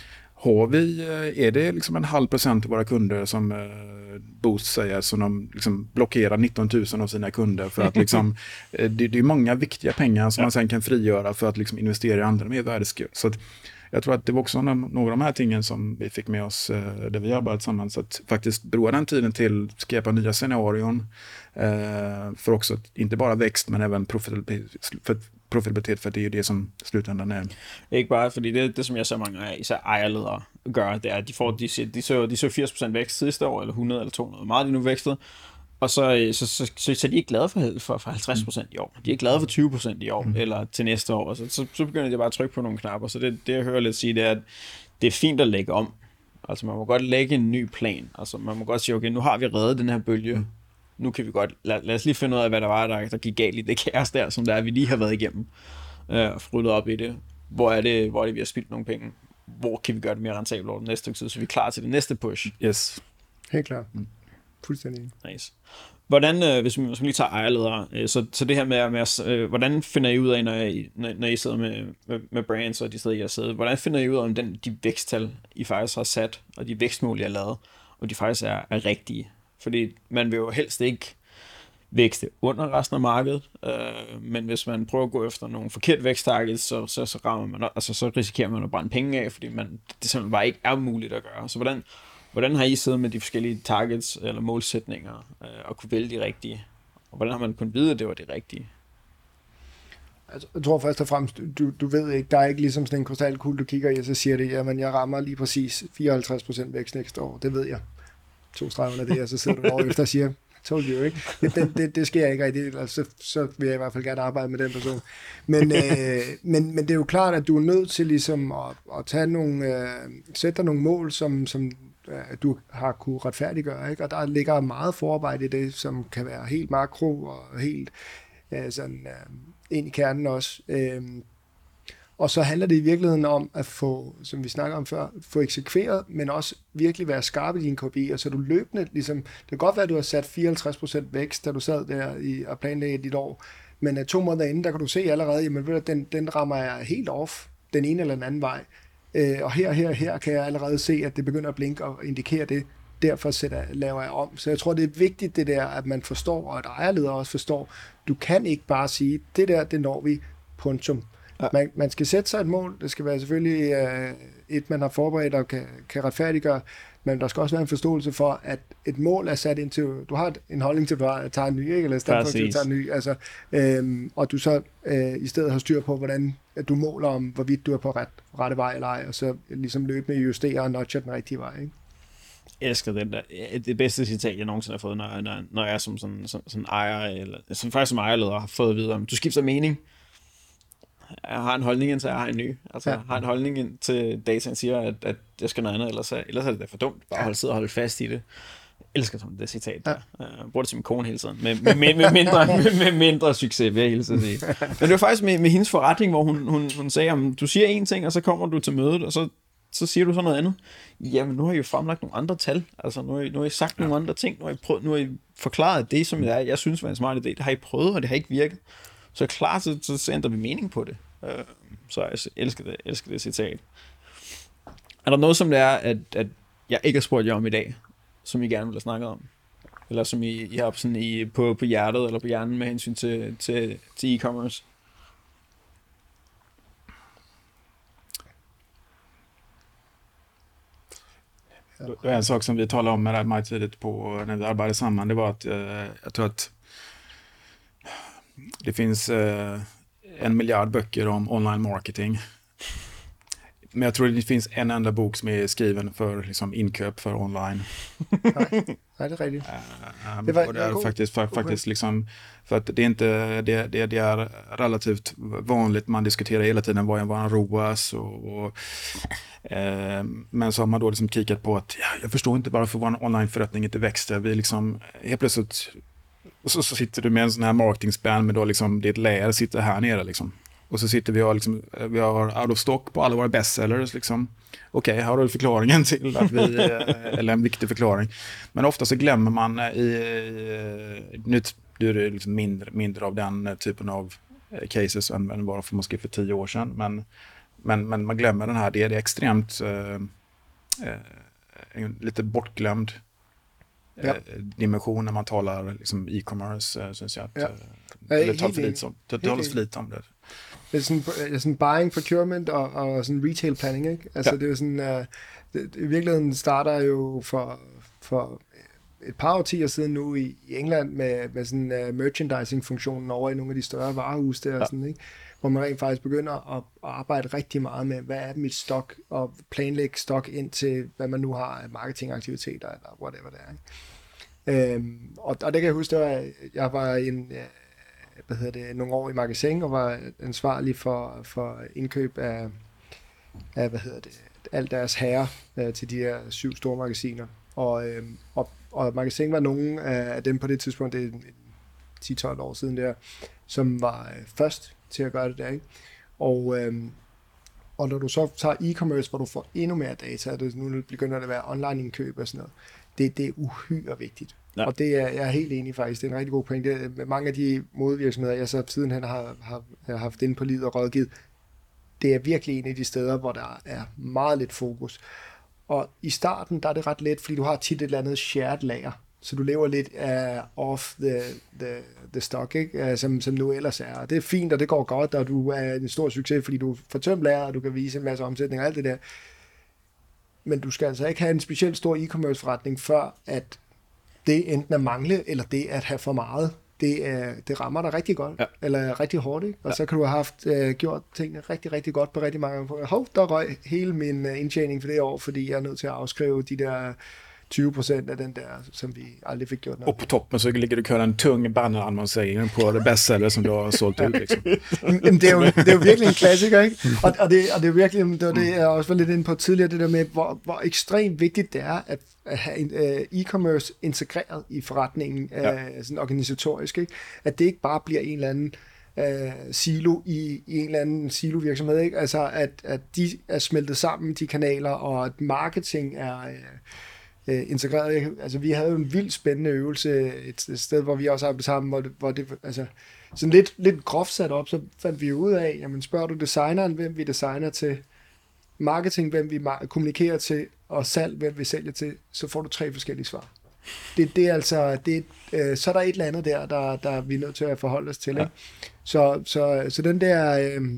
har vi, är det liksom en halv procent av våra kunder som Boost säger, som de liksom blockerar nitton tusen av sina kunder för att liksom, det, det är många viktiga pengar som ja. man sen kan frigöra för att liksom investera i andra mer värdeskap. Så att jag tror att det var också några av de här tingen som vi fick med oss där vi arbetat tillsammans, att faktiskt broa den tiden till att skapa nya scenarion för också inte bara växt men även profitabilitet, för profitabilitet, för det er jo det, som slutändan er. Ikke bare, fordi det, det som jeg så mange af, især ejerledere gør, det er, at de får, de, de, de, så, de så firs procent vækst sidste år, eller hundrede eller to hundrede, meget de nu vækstet, og så, så, så, så, så de er ikke glade for, for, for halvtreds procent i år. De er ikke glade for tyve procent i år, mm. eller til næste år, og så, så, så begynder de bare at trykke på nogle knapper. Så det, det jeg hører lidt sige, det er, at det er fint at lægge om. Altså man må godt lægge en ny plan. Altså man må godt sige, okay, nu har vi reddet den her bølge. Mm. Nu kan vi godt, lad, lad os lige finde ud af, hvad der var, der, der gik galt i det kaos der, som der er, vi lige har været igennem, øh, og ryddet op i det. Hvor er det, hvor er det, vi har spildt nogle penge? Hvor kan vi gøre det mere rentabelt over den næste tid, så vi er klar til det næste push? Yes. Helt klart. Mm. Fuldstændig. Nice. Hvordan, øh, hvis vi lige tager ejerledere, øh, så, så det her med, med øh, hvordan finder I ud af, når I, når, når I sidder med, med, med brands, og de steder, I har siddet, hvordan finder I ud af, om den, de væksttal, I faktisk har sat, og de vækstmål, I har lavet, og de faktisk er, er rigtige? Fordi man vil jo helst ikke vækste under resten af markedet, øh, men hvis man prøver at gå efter nogle forkert væksttargets, så, så, så, rammer man, altså, så risikerer man at brænde penge af, fordi man, det simpelthen bare ikke er muligt at gøre. Så hvordan, hvordan har I siddet med de forskellige targets eller målsætninger øh, og kunne vælge de rigtige? Og hvordan har man kunnet vide, at det var det rigtige? Altså, jeg tror først og fremmest, du, du ved ikke, der er ikke ligesom sådan en krystalkugle, du kigger i, og så siger det, jamen jeg rammer lige præcis fireoghalvtreds procent vækst næste år, det ved jeg. To streger under det, og så sidder du over efter og siger, told you, ikke? Det, det, det, det sker ikke rigtig, altså, så, så vil jeg i hvert fald gerne arbejde med den person. Men, øh, men, men det er jo klart, at du er nødt til ligesom at, at tage nogle, øh, sætte dig nogle mål, som, som øh, du har kunne retfærdiggøre, ikke? Og der ligger meget forarbejde i det, som kan være helt makro og helt øh, sådan, øh, ind i kernen også. Øh, Og så handler det i virkeligheden om at få, som vi snakker om før, få eksekveret, men også virkelig være skarp i dine K P I'er, så du løbende, ligesom, det kan godt være, at du har sat fireoghalvtreds procent vækst, da du sad der i, og planlagde dit år, men uh, to måneder inden, der kan du se allerede, jamen ved du, den, den rammer jeg helt off, den ene eller den anden vej. Uh, og her, her, her kan jeg allerede se, at det begynder at blinke og indikere det, derfor sætter, laver jeg om. Så jeg tror, det er vigtigt det der, at man forstår, og at ejerledere også forstår, du kan ikke bare sige, det der, det når vi, punktum. Man, man skal sætte sig et mål. Det skal være selvfølgelig øh, et, man har forberedt og kan, kan retfærdiggøre, men der skal også være en forståelse for, at et mål er sat ind til, du har en holdning til, at du tager en ny, ikke? Eller stedet for, at du tager en ny, altså, øh, og du så øh, i stedet har styr på, hvordan at du måler om, hvorvidt du er på ret, rette vej eller ej, og så ligesom løbende justere og notcher den rigtige vej, ikke? Jeg elsker den der. Det bedste citat, jeg nogensinde har fået, når, når, når jeg som sådan, sådan, sådan ejer, eller som faktisk som ejerleder har fået at vide om, du skifter mening. Jeg har en holdning ind til, at jeg har en ny. Altså, ja. Jeg har en holdning ind til dataen siger, at, at jeg skal noget andet, ellers er, ellers er det da for dumt. Bare holde, sidde og holde fast i det. Jeg elsker sådan det citat der. Ja. Jeg bruger det til min kone hele tiden. Med, med, med, med, mindre, med, med mindre succes, vil jeg hele tiden sige. Men det var faktisk med, med hendes forretning, hvor hun, hun, hun sagde, at du siger én ting, og så kommer du til mødet, og så, så siger du så noget andet. Jamen, nu har I jo fremlagt nogle andre tal. Altså, nu har I, nu har I sagt ja. nogle andre ting. Nu har I, prøvet, nu har I forklaret det, som jeg, jeg synes var en smart idé. Det har I prøvet, og det har ikke virket. Så klart, så, så ændrer vi mening på det. Uh, så jeg elsker det, elsker det citat. Er der noget, som det er, at, at jeg ikke har spurgt jer om i dag, som I gerne vil have snakket om? Eller som I, I har sådan i, på, på hjertet eller på hjernen med hensyn til, til, til e-commerce? Det var en sak som vi talade om med det meget tidigt på när vi arbetade samman. Det var att eh, jag tror att det finns eh, en miljard böcker om online marketing. Men jag tror det finns en enda bok som är skriven för liksom, inköp för online. Nej, nej, det är riktigt. Um, det, var, och det är faktiskt, för, faktiskt liksom, för att det är inte det, det, det är relativt vanligt, man diskuterar hela tiden vad är en R O A S och, och eh, men så har man då liksom kikat på att ja, jag förstår inte varför vår onlineförrättning inte växte. Vi liksom helt plötsligt och så, så sitter du med en sån här marketingspän med då liksom ditt layer sitter här nere liksom. Och så sitter vi och liksom, vi har out of stock på alla våra bestsellers liksom. Okej, okay, här har du förklaringen till att vi, eller en viktig förklaring. Men ofta så glömmer man i, nu är det liksom mindre, mindre av den typen av cases än vad för måske för tio år sedan. Men, men, men man glömmer den här, det är, det är extremt eh, en lite bortglömd Ja. eh, dimension när man talar liksom, e-commerce, eh, syns jag att Ja. eh, Ja, det talas helt för enig. lite om det. Det Helt talas för enig. lite om det. Det er sådan, det er sådan buying, procurement og, og sådan retail planning, ikke? Altså, Ja. det er jo sådan, uh, det, i virkeligheden starter jo for, for et par årtier siden nu i, i England med, med sådan uh, merchandising-funktionen over i nogle af de større varehus der, Ja. og sådan, ikke? Hvor man rent faktisk begynder at, at arbejde rigtig meget med, hvad er mit stok, og planlægge stok ind til, hvad man nu har af marketingaktiviteter, eller whatever det er, ikke? Øhm, og, og det kan jeg huske, det var, jeg var i en... Uh, hvad hedder det, nogle år i magasin, og var ansvarlig for, for indkøb af, af, hvad hedder det, alt deres herrer øh, til de her syv store magasiner. Og, øh, og, og magasin var nogen af dem på det tidspunkt, det er ti tolv år siden der, som var øh, først til at gøre det der, ikke? Og, øh, og når du så tager e-commerce, hvor du får endnu mere data, det, nu begynder det at være online-indkøb og sådan noget, det, det er uhyre vigtigt. Ja. Og det er jeg er helt enig faktisk. Det er en rigtig god point. Det er, mange af de modevirksomheder, jeg så sidenhen har, har, har haft inde på livet og rådgivet, det er virkelig en af de steder, hvor der er meget lidt fokus. Og i starten, der er det ret let, fordi du har tit et eller andet shared lager. Så du lever lidt uh, off the, the, the stock, ikke? Uh, som, som nu ellers er. Og det er fint, og det går godt, og du er en stor succes, fordi du får tømt lager, og du kan vise en masse omsætning og alt det der. Men du skal altså ikke have en specielt stor e-commerce forretning, før at det enten at mangle, eller det at have for meget, det, er, det rammer dig rigtig godt, ja. Eller rigtig hårdt, ikke? Og ja. Så kan du have haft, uh, gjort tingene rigtig, rigtig godt på rigtig mange gange. Hov, der røg hele min uh, indtjening for det år, fordi jeg er nødt til at afskrive de der tyve procent af den der, som vi aldrig fik gjort noget. Och på toppen så ligger du köra en tung bannerannonsering på det bestseller som du har sålt ut. Liksom. Jamen, det, er jo, det er jo virkelig en klassiker, ikke? Og, og, det, og det er virkelig, det var det, jeg også var lidt inde på tidligere, det der med, hvor, hvor ekstremt vigtigt det er, at, at have uh, e-commerce integreret i forretningen, ja. uh, sådan organisatorisk, ikke? At det ikke bare bliver en eller anden uh, silo i, i en eller anden silo-virksomhed, ikke? Altså, at, at de er smeltet sammen, de kanaler, og at marketing er... Uh, Uh, integreret. Altså, vi havde jo en vildt spændende øvelse et, et sted, hvor vi også arbejdede sammen, hvor det, hvor det altså, sådan lidt, lidt groft sat op, så fandt vi ud af, jamen spørger du designeren, hvem vi designer til, marketing, hvem vi ma- kommunikerer til, og salg, hvem vi sælger til, så får du tre forskellige svar. Det, det er altså, det, øh, så er der et eller andet der, der, der vi er nødt til at forholde os til. Ja. Ikke? Så, så, så den der... Øh,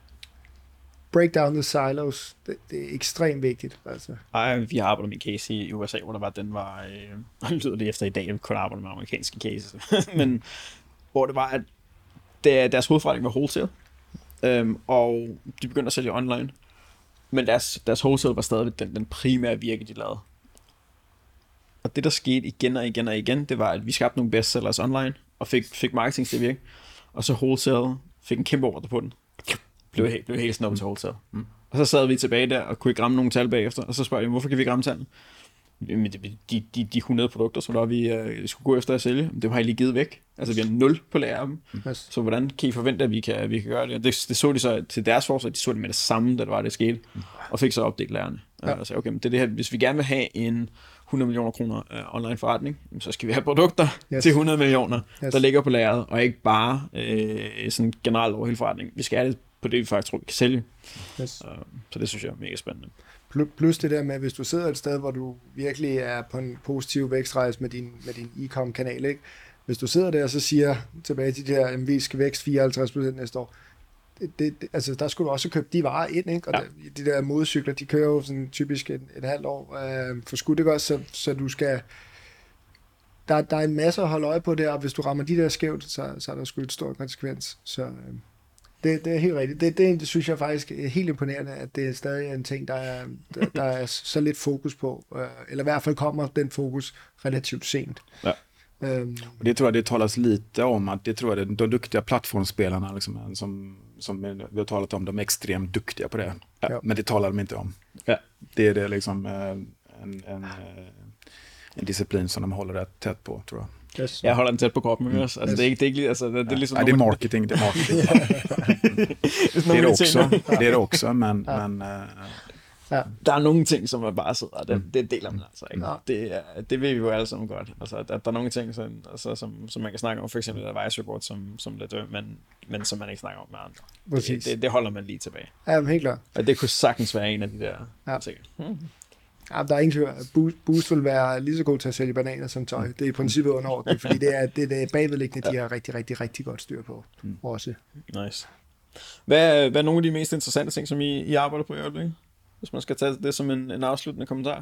break down the silos, det, det er ekstremt vigtigt. Altså. Ej, vi har arbejdet med en case i U S A, hvor der var, den var, øh, lyder det efter i dag, vi kun arbejder med amerikanske cases, men hvor det var, at det, deres hovedforretning var wholesale, øhm, og de begyndte at sælge online, men deres, deres wholesale var stadig den, den primære virke, de lavede. Og det, der skete igen og igen og igen, det var, at vi skabte nogle bestsellers online, og fik, fik marketing til at virke, og så wholesale fik en kæmpe ordre på den. Blev helt, blev helt snuppet til wholesale. Mm. Og så sad vi tilbage der og kunne ikke ramme nogle tal bagefter, og så spørger jeg, hvorfor kan vi ikke ramme tallene? Jamen, de, de, de hundrede produkter, som der vi uh, skulle gå efter at sælge, det har I lige givet væk. Altså, vi har nul på lager af dem. Yes. Så hvordan kan I forvente, at vi kan, at vi kan gøre det? Og det, det så de så til deres forsøg, de så det med det samme, da det var, det skete, mm. og fik så opdelt lagerne. Ja. Og sagde, okay, men det er det her, hvis vi gerne vil have en hundrede millioner kroner uh, online forretning, så skal vi have produkter yes. til hundrede millioner, yes. der ligger på lageret, og ikke bare uh, sådan generelt over hele forretningen. Vi skal have det på det, vi faktisk tror, vi kan sælge. Yes. Uh, så det synes jeg er mega spændende. Plus det der med, hvis du sidder et sted, hvor du virkelig er på en positiv vækstrejse med din, med din e-com-kanal, ikke? Hvis du sidder der og så siger tilbage til de der, at vi skal vækst fireoghalvtreds procent næste år, det, det, altså der skulle du også købe de varer ind, ikke? Og ja. der, de der modecykler, de kører jo sådan typisk et, et halvt år øh, for skud, ikke også? Så, så du skal... Der, der er en masse at holde øje på der, og hvis du rammer de der skævt, så, så er der sgu et stort konsekvens. Så... Øh, Det, det er helt rigtigt. Det, det, det synes jeg faktisk er helt imponerende, at det er stadig en ting, der er, der, der er så lidt fokus på. Eller i hvert fald kommer den fokus relativt sent. Ja. Um, och det tror jag det talas lite om, att det tror jag det, de duktiga plattformsspelarna liksom, som, som vi har talat om, de är extremt duktiga på det. Ja. Men det talar de inte om. Ja. Det är det liksom en, en, en disciplin som de håller rätt tätt på, tror jag. Yes. Jeg holder den tæt på kroppen, mm. altså, yes. det, er ikke, det er ikke altså, det, det er ligesom... Ja, det er marketing, det er marketing. det, er det, også, det er det også, men... ja. men uh, ja. Der er nogle ting, som er bare sidder, det, det deler man altså ikke. Ja. Det, det ved vi jo alle sammen godt. Altså, at der er nogle ting, som, altså, som, som man kan snakke om, for eksempel et advisory board, som, som lidt død, men, men som man ikke snakker om med andre. Det, det, det holder man lige tilbage. Ja, men helt klart. Og det kunne sagtens være en af de der ja. ting. Hmm. Ja, der er ingen tvivl. Boost, Boost vil være lige så god til at sælge bananer som tøj. Det er i princippet underordnet, fordi det er det, det er bagvedliggende, de har rigtig, rigtig, rigtig godt styr på mm. også. Nice. Hvad, hvad er nogle af de mest interessante ting, som I, I arbejder på i øjeblikket? Hvis man skal tage det som en, en afsluttende kommentar.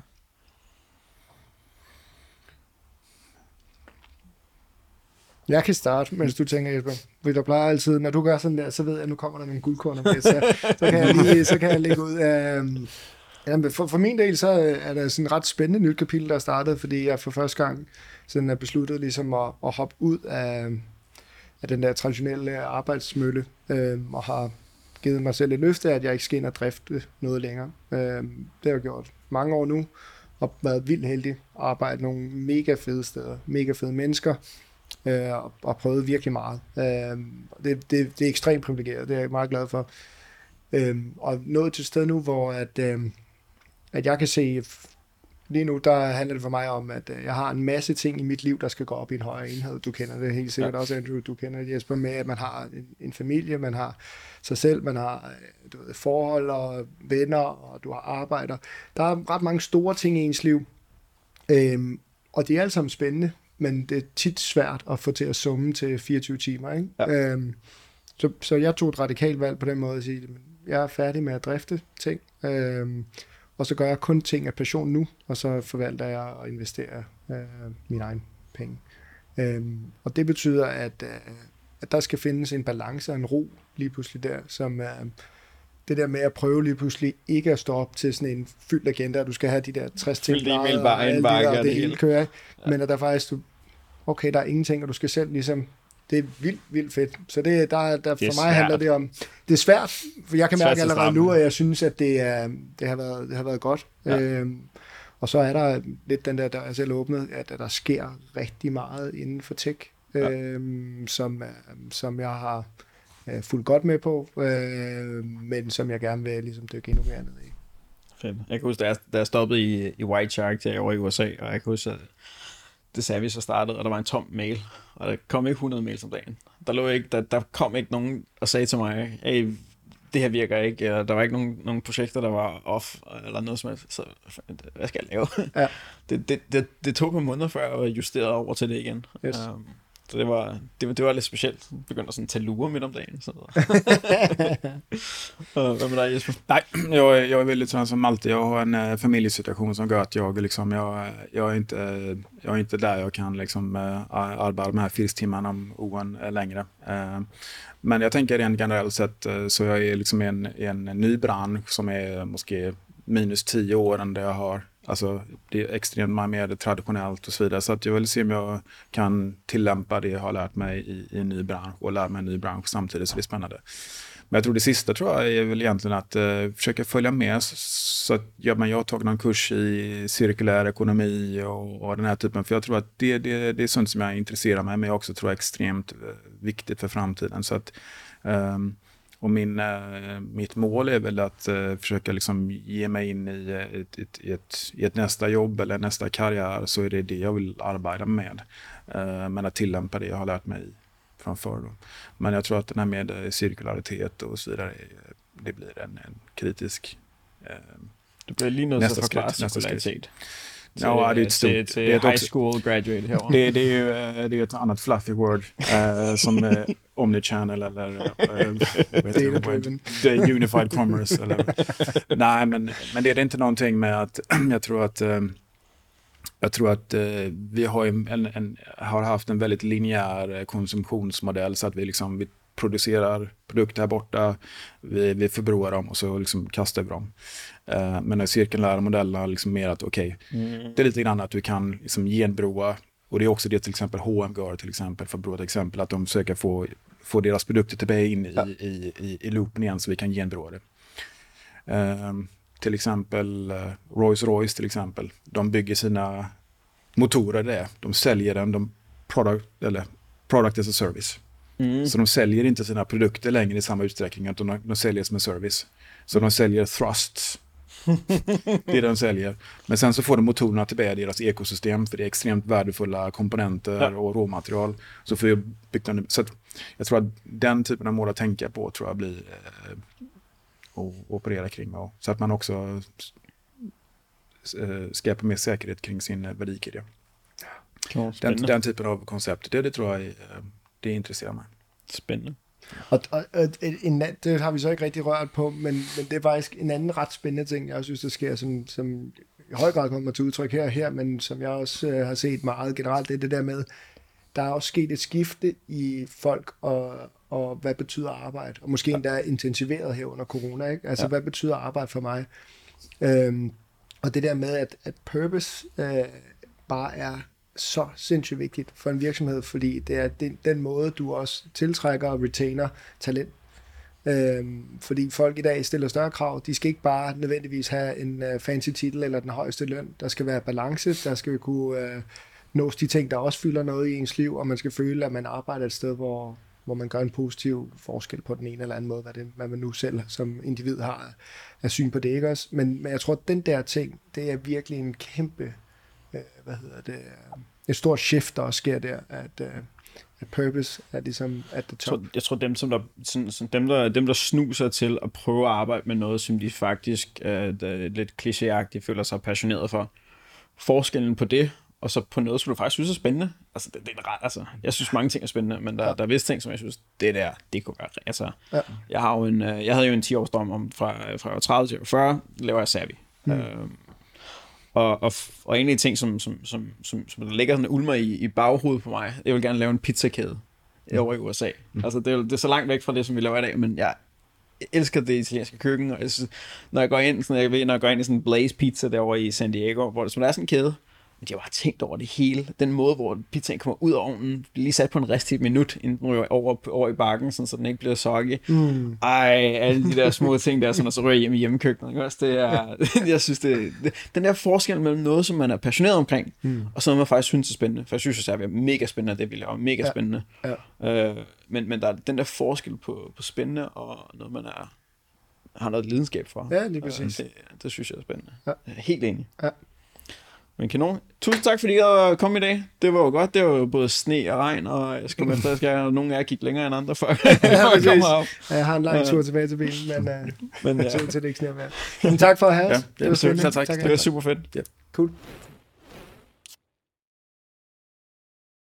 Jeg kan starte, mens du tænker, Jesper. Fordi der plejer altid, når du gør sådan der, så ved jeg, at nu kommer der nogle guldkorner med, så, så, kan jeg lige, så kan jeg lægge ud af... Jamen, for, for min del, så er der sådan et ret spændende nyt kapitel, der er startet, fordi jeg for første gang sådan er besluttet ligesom at, at hoppe ud af, af den der traditionelle arbejdsmølle, øh, og har givet mig selv et løfte af, at jeg ikke skal ind og drifte noget længere. Øh, det har jeg gjort mange år nu, og været vildt heldig at arbejde nogle mega fede steder, mega fede mennesker, øh, og, og prøvet virkelig meget. Øh, det, det, det er ekstremt privilegeret, det er jeg meget glad for. Øh, og nået til et sted nu, hvor at, øh, at jeg kan se, lige nu, der handler det for mig om, at jeg har en masse ting i mit liv, der skal gå op i en højere enhed. Du kender det helt sikkert ja. også, Andrew. Du kender det, Jesper, med, at man har en, en familie, man har sig selv, man har du ved, forhold og venner, og du har arbejder. Der er ret mange store ting i ens liv, øhm, og det er alt sammen spændende, men det er tit svært at få til at summe til fireogtyve timer. Ikke? Ja. Øhm, så, så jeg tog et radikalt valg på den måde at sige, at jeg er færdig med at drifte ting, øhm, og så gør jeg kun ting af passion nu, og så forvalter jeg og investerer øh, mine egne penge. Øhm, og det betyder, at, øh, at der skal findes en balance og en ro lige pludselig der, som øh, det der med at prøve lige pludselig ikke at stå op til sådan en fyldt agenda, at du skal have de der tres ting, og, og, og alt det der, og det hele kører, ja. Men at der faktisk, du, okay, der er ingenting, og du skal selv ligesom, det er vildt, vildt fedt. Så det, der, der, for mig svært. handler det om, det er svært, for jeg kan mærke allerede nu, at jeg synes, at det, er, det, har, været, det har været godt. Ja. Øhm, og så er der lidt den der, der er selv åbnet, at, at der sker rigtig meget inden for tech, ja. øhm, som, som jeg har øh, fulgt godt med på, øh, men som jeg gerne vil ligesom dykke endnu mere ned i. Fedt. Jeg kan huske, da jeg, da jeg stoppede i, i White Shark til over i U S A, og jeg kan huske, at det sagde vi så startede, og der var en tom mail, og der kom ikke hundrede mails om dagen. Der, lå ikke, der, der kom ikke nogen og sagde til mig, hey, det her virker ikke, der var ikke nogen, nogen projekter, der var off, eller noget som helst, så hvad skal jeg lave? Ja. Det, det, det, det tog på måneder, før jeg justerede over til det igen. Yes. Um, så det var, det, det var lidt specielt. Jeg begyndte at sådan tage lurer midt om dagen. Så. Hvad med dig, Jesper? Nej, jag, jag är väldigt sån som alltid. Jag har en äh, familjesituation som gör att jag, liksom, jag, jag, är inte, äh, jag är inte där jag kan liksom, äh, arbeta de här fyra timmarna om åren äh, längre. Äh, men jag tänker rent generellt sett äh, så jag är liksom en, en ny bransch som är måske minus tio år än det jag har. Alltså det är extremt mer traditionellt och så vidare. Så att jag vill se om jag kan tillämpa det jag har lärt mig i, i en ny bransch och lära mig en ny bransch samtidigt, så det är spännande. Men jag tror det sista tror jag är väl egentligen att uh, försöka följa med. Så att ja, men jag har tagit någon kurs i cirkulär ekonomi och, och den här typen. För jag tror att det, det, det är sånt som jag intresserar mig, men jag också tror är extremt uh, viktigt för framtiden. Så att um, Och min, äh, mitt mål är väl att äh, försöka liksom ge mig in i ett, ett, ett, i ett nästa jobb eller nästa karriär, så är det det jag vill arbeta med. Äh, men att tillämpa det jag har lärt mig från förr. Då. Men jag tror att den här med cirkularitet och så vidare, det blir en, en kritisk äh, det blir lige noget så forklare cirkularitet. Ja, det är ett stort, till, till det är high school graduate här. det, det är ju det är ett annat fluffy word uh, som uh, omnichannel eller uh, unified commerce eller nej, men men det är inte någonting med att jag tror att uh, jag tror att uh, vi har en, en har haft en väldigt linjär konsumtionsmodell, så att vi liksom vi producerar produkter här borta, vi, vi förbrukar dem och så liksom kastar vi dem. Uh, men den cirkulära modellen har liksom mer att okej, okay, mm. det är lite grann att du kan liksom genbroa, och det är också det till exempel H och M gör till exempel, för att bråda exempel, att de försöker få, få deras produkter tillbaka in i, ja. i, i, i loopen igen, så vi kan genbroa det. Uh, till exempel uh, Rolls-Royce till exempel, de bygger sina motorer där, de säljer den, de product, eller product as a service. Mm. Så de säljer inte sina produkter längre i samma utsträckning, utan de, de säljer som en service. Så de säljer thrusts. Det är det de säljer. Men sen så får de motorerna tillbaka i deras ekosystem, för det är extremt värdefulla komponenter ja. och råmaterial. Så får jag bygga en, så att jag tror att den typen av mål att tänka på tror jag blir eh, och operera kring. Och, så att man också uh, skapa mer säkerhet kring sin uh, värdekedja. Cool. Den, den typen av koncept, det, det tror jeg, uh, det interesserer mig. Spændende. Og, og, og en, det har vi så ikke rigtig rørt på, men, men det er faktisk en anden ret spændende ting, jeg også synes, der sker, som, som i høj grad kommer til udtryk her og her, men som jeg også øh, har set meget generelt, det er det der med, der er også sket et skifte i folk, og, og hvad betyder arbejde, og måske endda intensiveret her under corona, ikke? Altså, ja. Hvad betyder arbejde for mig? Øhm, og det der med, at, at purpose øh, bare er så sindssygt vigtigt for en virksomhed, fordi det er den, den måde, du også tiltrækker og retainer talent. Øhm, fordi folk i dag stiller større krav. De skal ikke bare nødvendigvis have en uh, fancy titel eller den højeste løn. Der skal være balance. Der skal kunne uh, nås de ting, der også fylder noget i ens liv, og man skal føle, at man arbejder et sted, hvor, hvor man gør en positiv forskel på den ene eller anden måde, hvad, det, hvad man nu selv som individ har af syn på det, ikke også? Men, men jeg tror, at den der ting, det er virkelig en kæmpe hvad hedder det, et stort shift, der også sker der, at, uh, at purpose er ligesom at the top. Jeg tror, jeg tror dem, som der, sådan, sådan, dem, der, dem, der snuser til at prøve at arbejde med noget, som de faktisk uh, lidt klichéagtigt føler sig passioneret for, forskellen på det, og så på noget, som du faktisk synes er spændende. Altså, det, det er ret, altså, jeg synes mange ting er spændende, men der, ja. der er visse ting, som jeg synes, det der, det kunne være, altså, ja. jeg, har jo en, jeg havde jo en ti-års drøm om, fra, fra tredive til fyrre, laver jeg Savvy. Mm. Uh, Og, og, og en af de ting, som, som, som, som, som der ligger sådan ulmer i, i baghovedet på mig, jeg vil gerne lave en pizzakæde mm. over i U S A. Mm. Altså, det er, det er så langt væk fra det, som vi laver i dag, men jeg elsker det italienske køkken, og jeg synes, når jeg går ind, sådan, jeg ved, når jeg går ind i sådan en Blaze Pizza derovre i San Diego, hvor det, som der er sådan en kæde, men de har bare tænkt over det hele. Den måde, hvor pizzaen kommer ud af ovnen, lige sat på en rest i et minut, inden den ryger over, over i bakken, sådan, så den ikke bliver soggy. Mm. Ej, alle de der små ting der, sådan, og så ryger jeg hjem i hjemmekøkkenet. Det er, jeg synes, det, det, den der forskel mellem noget, som man er passioneret omkring, mm. og så noget, man faktisk synes er spændende. For jeg synes, at det er mega spændende, det vi laver. Mega ja. spændende. Ja. Øh, men, men der er den der forskel på, på spændende, og noget, man er, har noget lidenskab for. Ja, lige præcis. Det, det synes jeg er spændende. Ja. Jeg er helt enig. Ja. Men kanon. Tusind tak, fordi I kom i dag. Det var jo godt. Det var jo både sne og regn, og jeg skal med efter, skal nogle af jer kigge længere end andre, før jeg kommer op. Ja, jeg har en lang tur tilbage til bilen, men, uh, men ja. til det ikke sneer mere. Men tak for at have os. Ja, det, det var super, tak, tak. Det var super fedt. Ja. Cool.